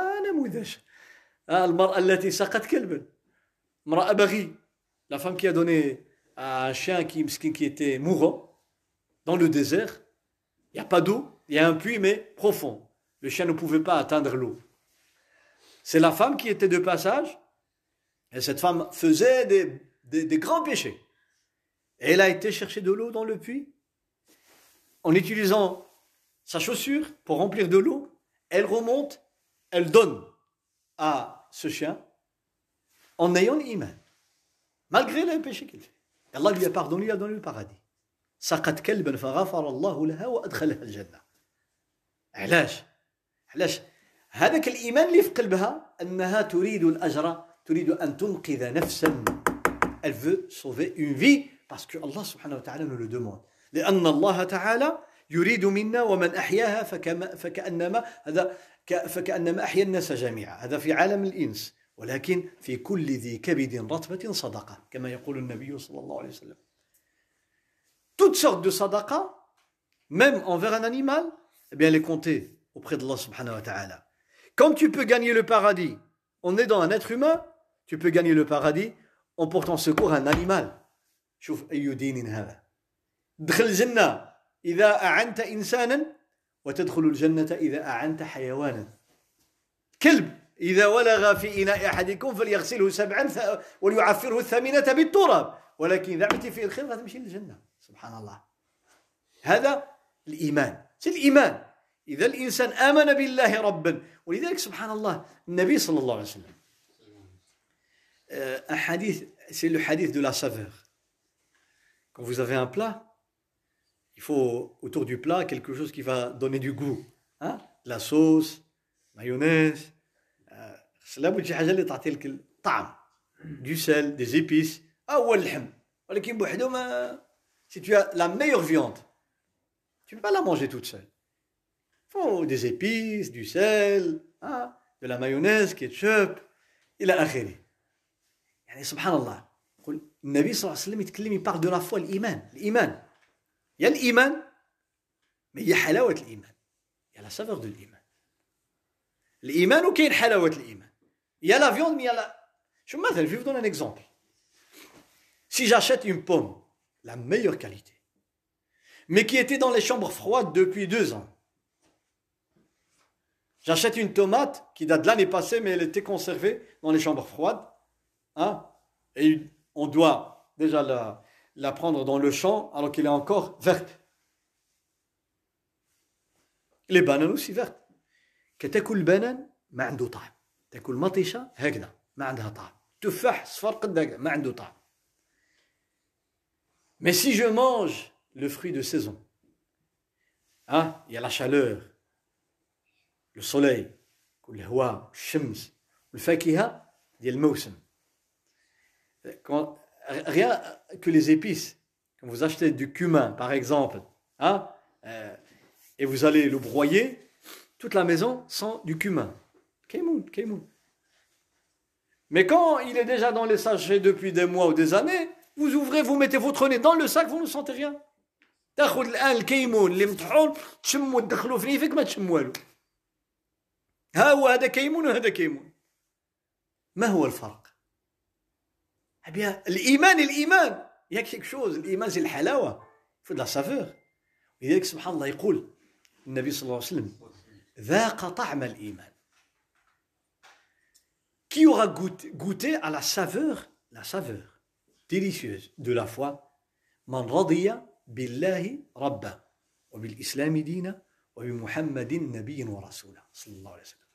المرأة التي سقت كلبا. امرأة بغي. La femme qui a donné à un chien qui, qui était mourant dans le désert. Il n'y a pas d'eau. Il y a un puits mais profond. Le chien ne pouvait pas atteindre l'eau. C'est la femme qui était de passage. Et cette femme faisait des, des, des grands péchés. Et elle a été chercher de l'eau dans le puits. En utilisant sa chaussure pour remplir de l'eau, elle remonte, elle donne à ce chien en ayant l'iman, malgré les péchés qu'il fait. Allah lui a pardonné, lui a donné le paradis. سقت كلبا فغفر الله لها وأدخلها الجنة. علاش؟ علاش؟ هذاك الإيمان اللي في قلبها أنها تريد الأجر، تريد أن تنقذ نفسا. Elle veut sauver une vie parce que Allah subhanahu wa ta'ala nous le demande. لأن الله تعالى يريد منا ومن أحياها فكما فكأنما هذا فكأنما أحيا الناس جميعا. هذا في عالم الإنس، ولكن في كل ذي كبد رطبة صدقة كما يقول النبي صلى الله عليه وسلم. Toutes sortes de sadaqa, même envers un animal, eh bien les compter auprès d'Allah subhanahu wa ta'ala. Comme tu peux gagner le paradis en aidant un être humain, tu peux gagner le paradis en portant secours à un animal. شوف أي دين هذا. دخل الجنة إذا أعنت إنسانا وتدخل الجنة إذا أعنت حيوانا. كلب إذا ولغ في إناء أحدكم فليغسله سبعا وليعفره الثامنة بالتراب، ولكن إذا عملت فيه الخير غتمشي للجنة. سبحان الله. هذا الإيمان، c'est الإيمان. إذا الإنسان آمن بالله ربا، ولذلك سبحان الله النبي صلى الله عليه وسلم un hadith, c'est le hadith de la saveur. Quand vous avez un plat, il faut autour du plat quelque chose qui va donner du goût, hein? La sauce, mayonnaise, cela بغيت شي حاجه اللي تعطي لك الطعم، du sel, des épices. هو اللحم، ولكن بوحدو ما. Si tu as la meilleure viande, tu ne peux pas la manger toute seule. Il faut des épices, du sel, hein? De la mayonnaise, ketchup, إلى آخره. يعني سبحان الله. يقول النبي صلى الله عليه وسلم يتكلم، يبارل de la foi, الإيمان. الإيمان. Il y a الإيمان، mais il y a حلاوة الإيمان. Il y a la saveur de l'إيمان. الإيمان وكاين حلاوة الإيمان. Il y a la viande, mais il y a la. Je مثلا, je vais vous donner un exemple. Si j'achète une pomme, la meilleure qualité, mais qui était dans les chambres froides depuis deux ans. J'achète une tomate qui date de l'année passée, mais elle était conservée dans les chambres froides. Hein? Et on doit déjà la, la prendre dans le champ alors qu'elle est encore verte. Les bananes aussi vertes. كتاكل البنان ما عنده طعم. تاكل مطيشة هكذا ما عندها طعم. تفاح صفر قد هكذا ما عنده طعم. Mais si je mange le fruit de saison, hein, il y a la chaleur, le soleil, الهواء, الشمس, الفاكهة ديال الموسم. Quand, rien que les épices, quand vous achetez du cumin par exemple, hein, euh, et vous allez le broyer, toute la maison sent du cumin. Kaymoun, kaymoun. Mais quand il est déjà dans les sachets depuis des mois ou des années, vous ouvrez, vous mettez votre nez dans le sac, vous ne sentez rien. تاخذ الآن الكيمون اللي مطحون تشموا تدخلوا في فيك ما تشم والو. ها هو هذا كيمون وهذا كيمون. ما هو الفرق؟ Eh bien, الإيمان الإيمان. Il y a quelque chose. الإيمان c'est الحلاوة. Il faut de la saveur. لذلك سبحان الله يقول النبي صلى الله عليه وسلم ذاق طعم الإيمان. Qui aura goûté, goûté à la saveur, la saveur délicieuse de la foi, من رضي بالله ربا وبالإسلام دينا وبمحمد نبي ورسولا صلى الله عليه وسلم.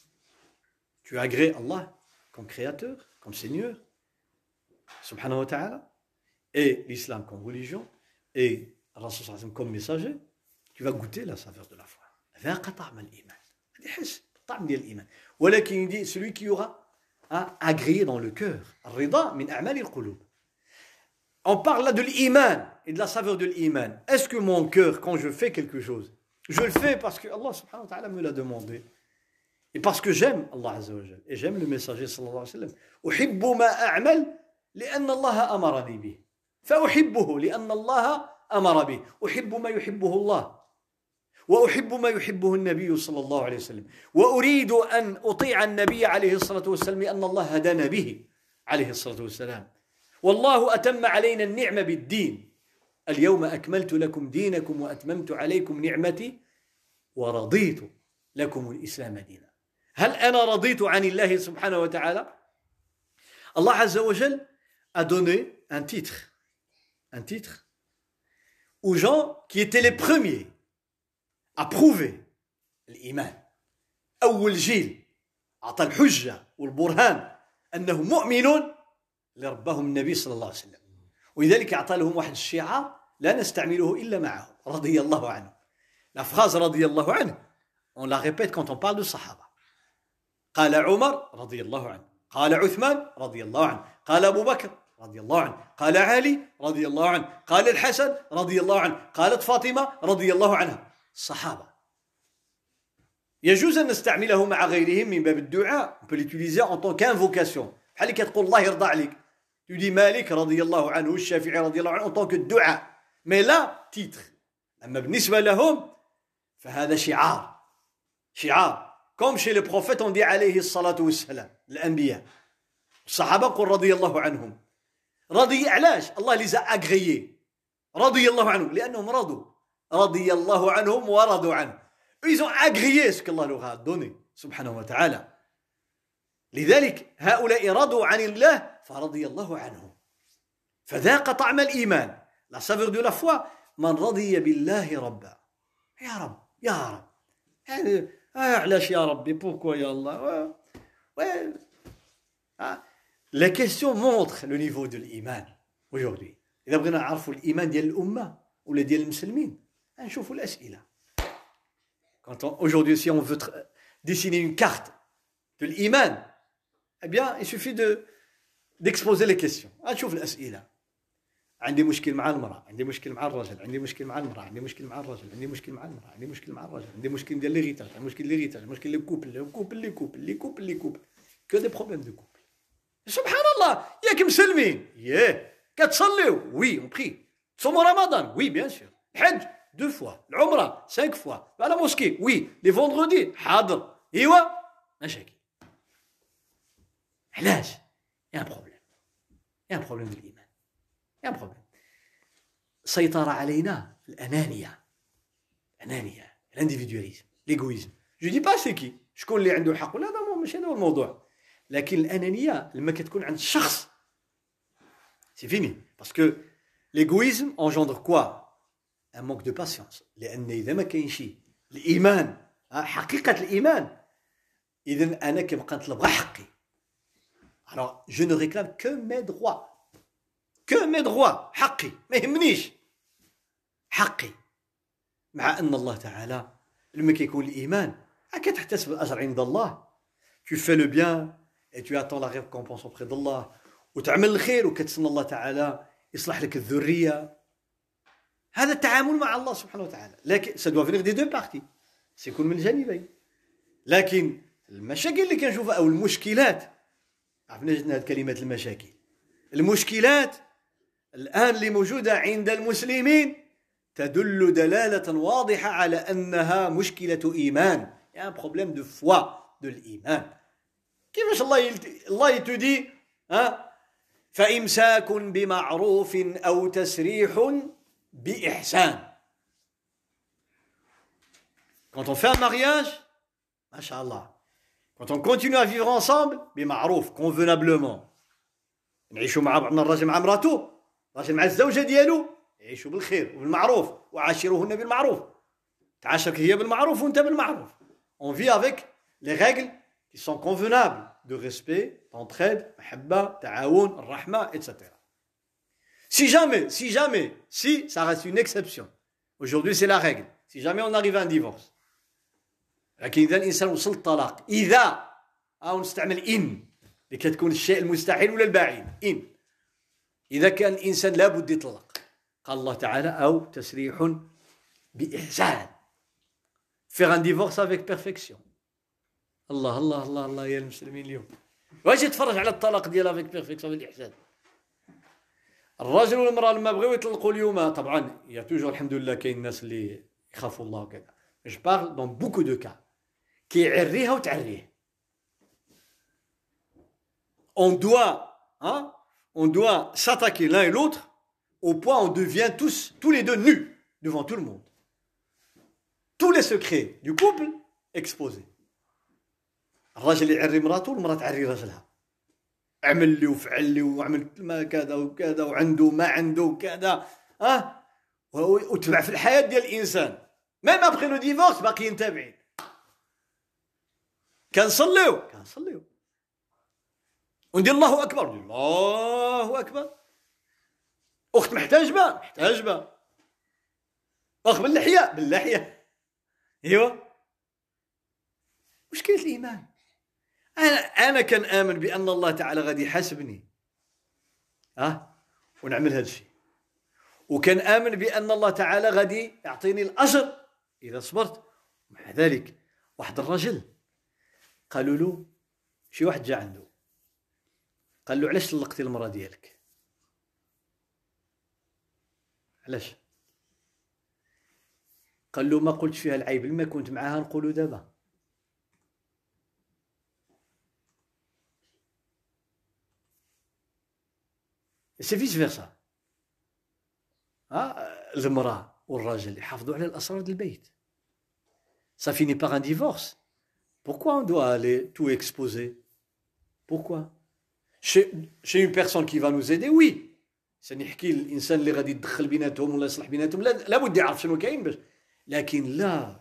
Tu agrées Allah comme créateur, comme Seigneur, subhanahu wa ta'ala, et l'islam comme religion, et Rasul sallallahu alayhi wa sallam comme messager, tu vas goûter la saveur de la foi. ذاق طعم الإيمان. هذا يحس بالطعم ديال الإيمان. ولكن يدي celui qui aura à agréer dans le cœur. الرضا من أعمال القلوب. On parle là de l'iman et de la saveur de l'iman. Est-ce que mon cœur, quand je fais quelque chose, je le fais parce que Allah subhanahu wa ta'ala me l'a demandé, et parce que j'aime Allah azza wa jal, et j'aime le messager sallallahu alayhi wa sallam. أحب ما أعمل لأن الله أمرني به. فأحبه لأن الله أمر به. أحب ما يحبه الله. وأحب ما يحبه النبي صلى الله عليه وسلم. وأريد أن أطيع النبي عليه الصلاة والسلام لأن الله هدانا به عليه الصلاة والسلام. والله أتم علينا النعمة بالدين. اليوم أكملت لكم دينكم وأتممت عليكم نعمتي ورضيت لكم الإسلام دينا. هل أنا رضيت عن الله سبحانه وتعالى؟ Allah Azza wa Jal a donné un titre, un titre aux gens qui étaient les premiers à prouver l'iman. أول جيل أعطى الحجة والبرهان أنه مؤمنون لربهم النبي صلى الله عليه وسلم. ولذلك أعطى لهم واحد الشعار لا نستعمله إلا معه رضي الله عنه. La phrase رضي الله عنه, on la répète quand on parle de Sahaba. قال عمر رضي الله عنه, قال عثمان رضي الله عنه, قال أبو بكر رضي الله عنه, قال علي رضي الله عنه, قال الحسن رضي الله عنه, قالت فاطمة رضي الله عنها. الصحابة يجوز أن نستعمله مع غيرهم من باب الدعاء. On peut l'utiliser en tant qu'invocation. بحال اللي كتقول الله يرضى عليك. Tu dis مالك رضي الله عنه والشافعي رضي الله عنه en tant que دعاء. Mais là, titre. أما بالنسبة لهم فهذا شعار. شعار. Comme chez les prophètes on dit عليه الصلاة والسلام. الأنبياء. الصحابة قل رضي الله عنهم. رضي علاش؟ الله les a agréés. رضي الله عنهم لأنهم رضوا. رضي الله عنهم ورضوا عنه. Ils ont agréé ce qu'Allah leur a donné, subhanahu wa ta'ala. لذلك هؤلاء رضوا عن الله فرضي الله عنهم. فذاق طعم الإيمان. La saveur de la foi. من رضي بالله ربا. يا رب يا رب. يعني علاش يا ربي pourquoi يا الله. Ouais. La question montre le niveau de l'iman aujourd'hui. إذا بغينا نعرفوا الإيمان ديال الأمة ولا ديال المسلمين نشوفوا الأسئلة. Quand on, aujourd'hui si on veut dessiner une carte de l'iman, eh bien il suffit de d'exposer les questions. نشوف الأسئلة. عندي مشكل مع المرأة، عندي مشكل مع الرجل، عندي مشكل مع المرأة، عندي مشكل مع الرجل، عندي مشكل مع المرأة، عندي مشكل مع الرجل، عندي مشكل ديال ليغيتاج، عندي مشكل ليغيتاج، مشكل لي كوبل، لي كوبل لي كوبل لي كوبل لي كوبل que des problèmes de couple. سبحان الله ياك مسلمين ياه كتصليو وي اون بري تصوموا رمضان وي بيان سور الحج دو فوا العمره سانك فوا على موسكي وي لي فوندردي حاضر ايوا مشاكل علاش يا بروبليم يا بروبليم ديال الايمان يا بروبليم سيطر علينا الانانيه الانانيه الانديفيدواليزم ليغويزم جو دي با سي كي شكون اللي عنده الحق ولا هذا ماشي هذا هو الموضوع لكن الانانيه لما كتكون عند الشخص سي فيني باسكو ليغويزم انجندر كوا ان مونك دو باسيونس لان اذا ما كاينش الايمان حقيقه الايمان اذا انا كنبقى نطلب غير حقي alors je ne réclame que mes droits que mes droits حقي ما يهمنيش حقي مع ان الله تعالى لما كيكون الايمان كتحتسب الاجر عند الله tu fais le bien et tu attends la récompense auprès d'Allah وتعمل الخير وكتسنى الله تعالى يصلح لك الذريه هذا التعامل مع الله سبحانه وتعالى لكن ça doit venir des deux parties سيكون من الجانبين لكن المشاكل اللي كنشوفها او المشكلات عرفنا جدنا هذه كلمه المشاكل المشكلات الان اللي موجوده عند المسلمين تدل دلاله واضحه على انها مشكله ايمان يا بروبليم دو فوا de الإيمان كيفاش الله يلت... الله يتدي ها فإمساك بمعروف أو تسريح بإحسان quand on fait un mariage machallah quand on continue à vivre ensemble بمعروف convenablement نعيشوا مع بعضنا الراجل مع مراته الراجل مع الزوجة ديالو يعيشوا بالخير وبالمعروف وعاشروهن بالمعروف تعاشرك هي بالمعروف وانت بالمعروف on vit avec les règles qui sont convenables de respect, d'entraide, mahabba, ta'awoun, rahma, et cetera. Si jamais, si jamais, si ça reste une exception, aujourd'hui c'est la règle, si jamais on arrive à un divorce, لكن إذا الإنسان وصل الطلاق إذا أو نستعمل إن لكي تكون الشيء المستحيل ولا البعيد إن إذا كان الإنسان لابد يطلق قال الله تعالى أو تسريح بإحسان faire un divorce avec perfection الله الله الله الله يا المسلمين اليوم واش يتفرج على الطلاق ديالها افيك بيرفكسيون بالاحسان الراجل والمراه لما بغيو يطلقوا اليوم طبعا يا توجور الحمد لله كاين الناس اللي يخافوا الله وكذا جو بارل دون بوكو دو كا كيعريها وتعريه on doit hein on doit s'attaquer l'un et l'autre au point où on devient tous tous les deux nus devant tout le monde tous les secrets du couple exposés الراجل يعري مراته والمراه تعري راجلها عمل لي وفعل لي وعمل ما كذا وكذا وعنده ما عنده وكذا ها أه؟ وتبع في الحياه ديال الانسان ميم ابخي لو ديفورس باقيين تابعين كنصليو كنصليو وندير الله اكبر الله اكبر اخت محتاجبه محتاجبه اخ باللحيه باللحيه ايوا مشكله الايمان أنا أنا كنآمن بأن الله تعالى غادي يحاسبني ها ونعمل هذا الشيء وكنآمن بأن الله تعالى غادي يعطيني الأجر إذا صبرت مع ذلك واحد الرجل قالوا له شي واحد جا عنده قال له علاش طلقتي المرأة ديالك علاش قال له ما قلتش فيها العيب لما كنت معاها نقولوا دابا سي فيس فيرسا ها المرأة والراجل يحافظوا على الأسرار ديال البيت ça finit par un divorce. Pourquoi on doit aller tout exposer? Pourquoi? chez, chez une personne qui va nous aider, oui. سنحكي الانسان اللي غادي يدخل بيناتهم ولا يصلح بيناتهم لابد يعرف شنو كاين باش، لكن لا،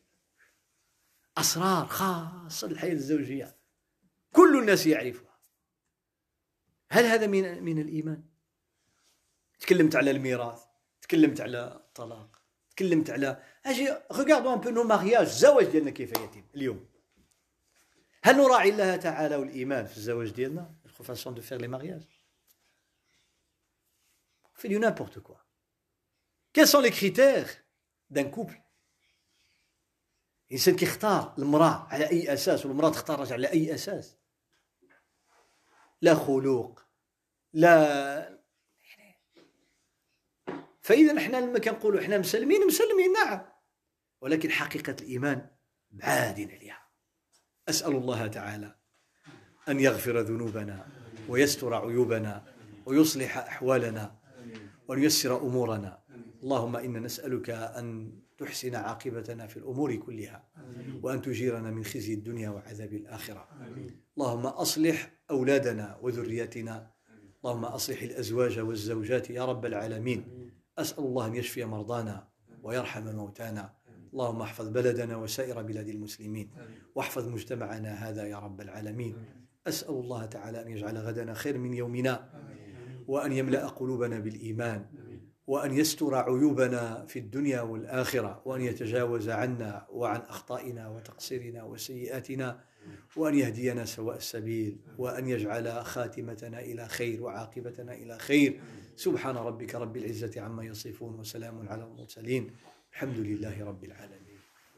اسرار خاصه للحياه الزوجيه كل الناس يعرفها. هل هذا من من الايمان؟ تكلمت على الميراث، تكلمت على الطلاق، تكلمت على اجي ريغاردون ان بو نو مارياج، الزواج ديالنا كيف يتم اليوم. هل نراعي الله تعالى والايمان في الزواج ديالنا؟ فاسون دو فير لي مارياج. On fait du n'importe quoi. Quels sont les critères d'un couple? الإنسان كيختار المرأة على أي أساس والمرأة تختار الرجل على أي أساس؟ لا خلق، لا. فإذا نحن لما كنقولوا احنا مسلمين مسلمين نعم، ولكن حقيقة الإيمان بعادين عليها. أسأل الله تعالى أن يغفر ذنوبنا ويستر عيوبنا ويصلح أحوالنا وأن ييسر أمورنا. اللهم إنا نسألك أن تحسن عاقبتنا في الأمور كلها وأن تجيرنا من خزي الدنيا وعذاب الآخرة. اللهم أصلح أولادنا وذرياتنا، اللهم أصلح الأزواج والزوجات يا رب العالمين. أسأل الله أن يشفي مرضانا ويرحم موتانا. اللهم احفظ بلدنا وسائر بلاد المسلمين واحفظ مجتمعنا هذا يا رب العالمين. أسأل الله تعالى أن يجعل غدنا خير من يومنا، وأن يملأ قلوبنا بالإيمان، وأن يستر عيوبنا في الدنيا والآخرة، وأن يتجاوز عنا وعن أخطائنا وتقصيرنا وسيئاتنا، وأن يهدينا سواء السبيل، وأن يجعل خاتمتنا إلى خير وعاقبتنا إلى خير. سبحان ربك رب العزة عما يصفون وسلام على المرسلين، الحمد لله رب العالمين.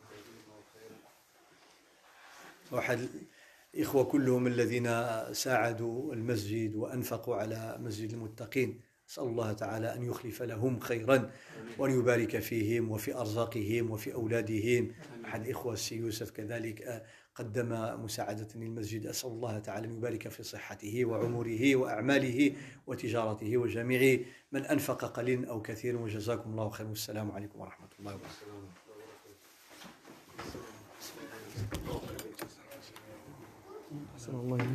واحد الإخوة كلهم الذين ساعدوا المسجد وأنفقوا على مسجد المتقين، أسأل الله تعالى أن يخلف لهم خيرا وأن يبارك فيهم وفي أرزاقهم وفي أولادهم. أحد الإخوة السي يوسف كذلك قدم مساعدة للمسجد، أسأل الله تعالى أن يبارك في صحته وعمره وأعماله وتجارته وجميع من أنفق قليل أو كثير، وجزاكم الله خير، والسلام عليكم ورحمة الله وبركاته. أحسن الله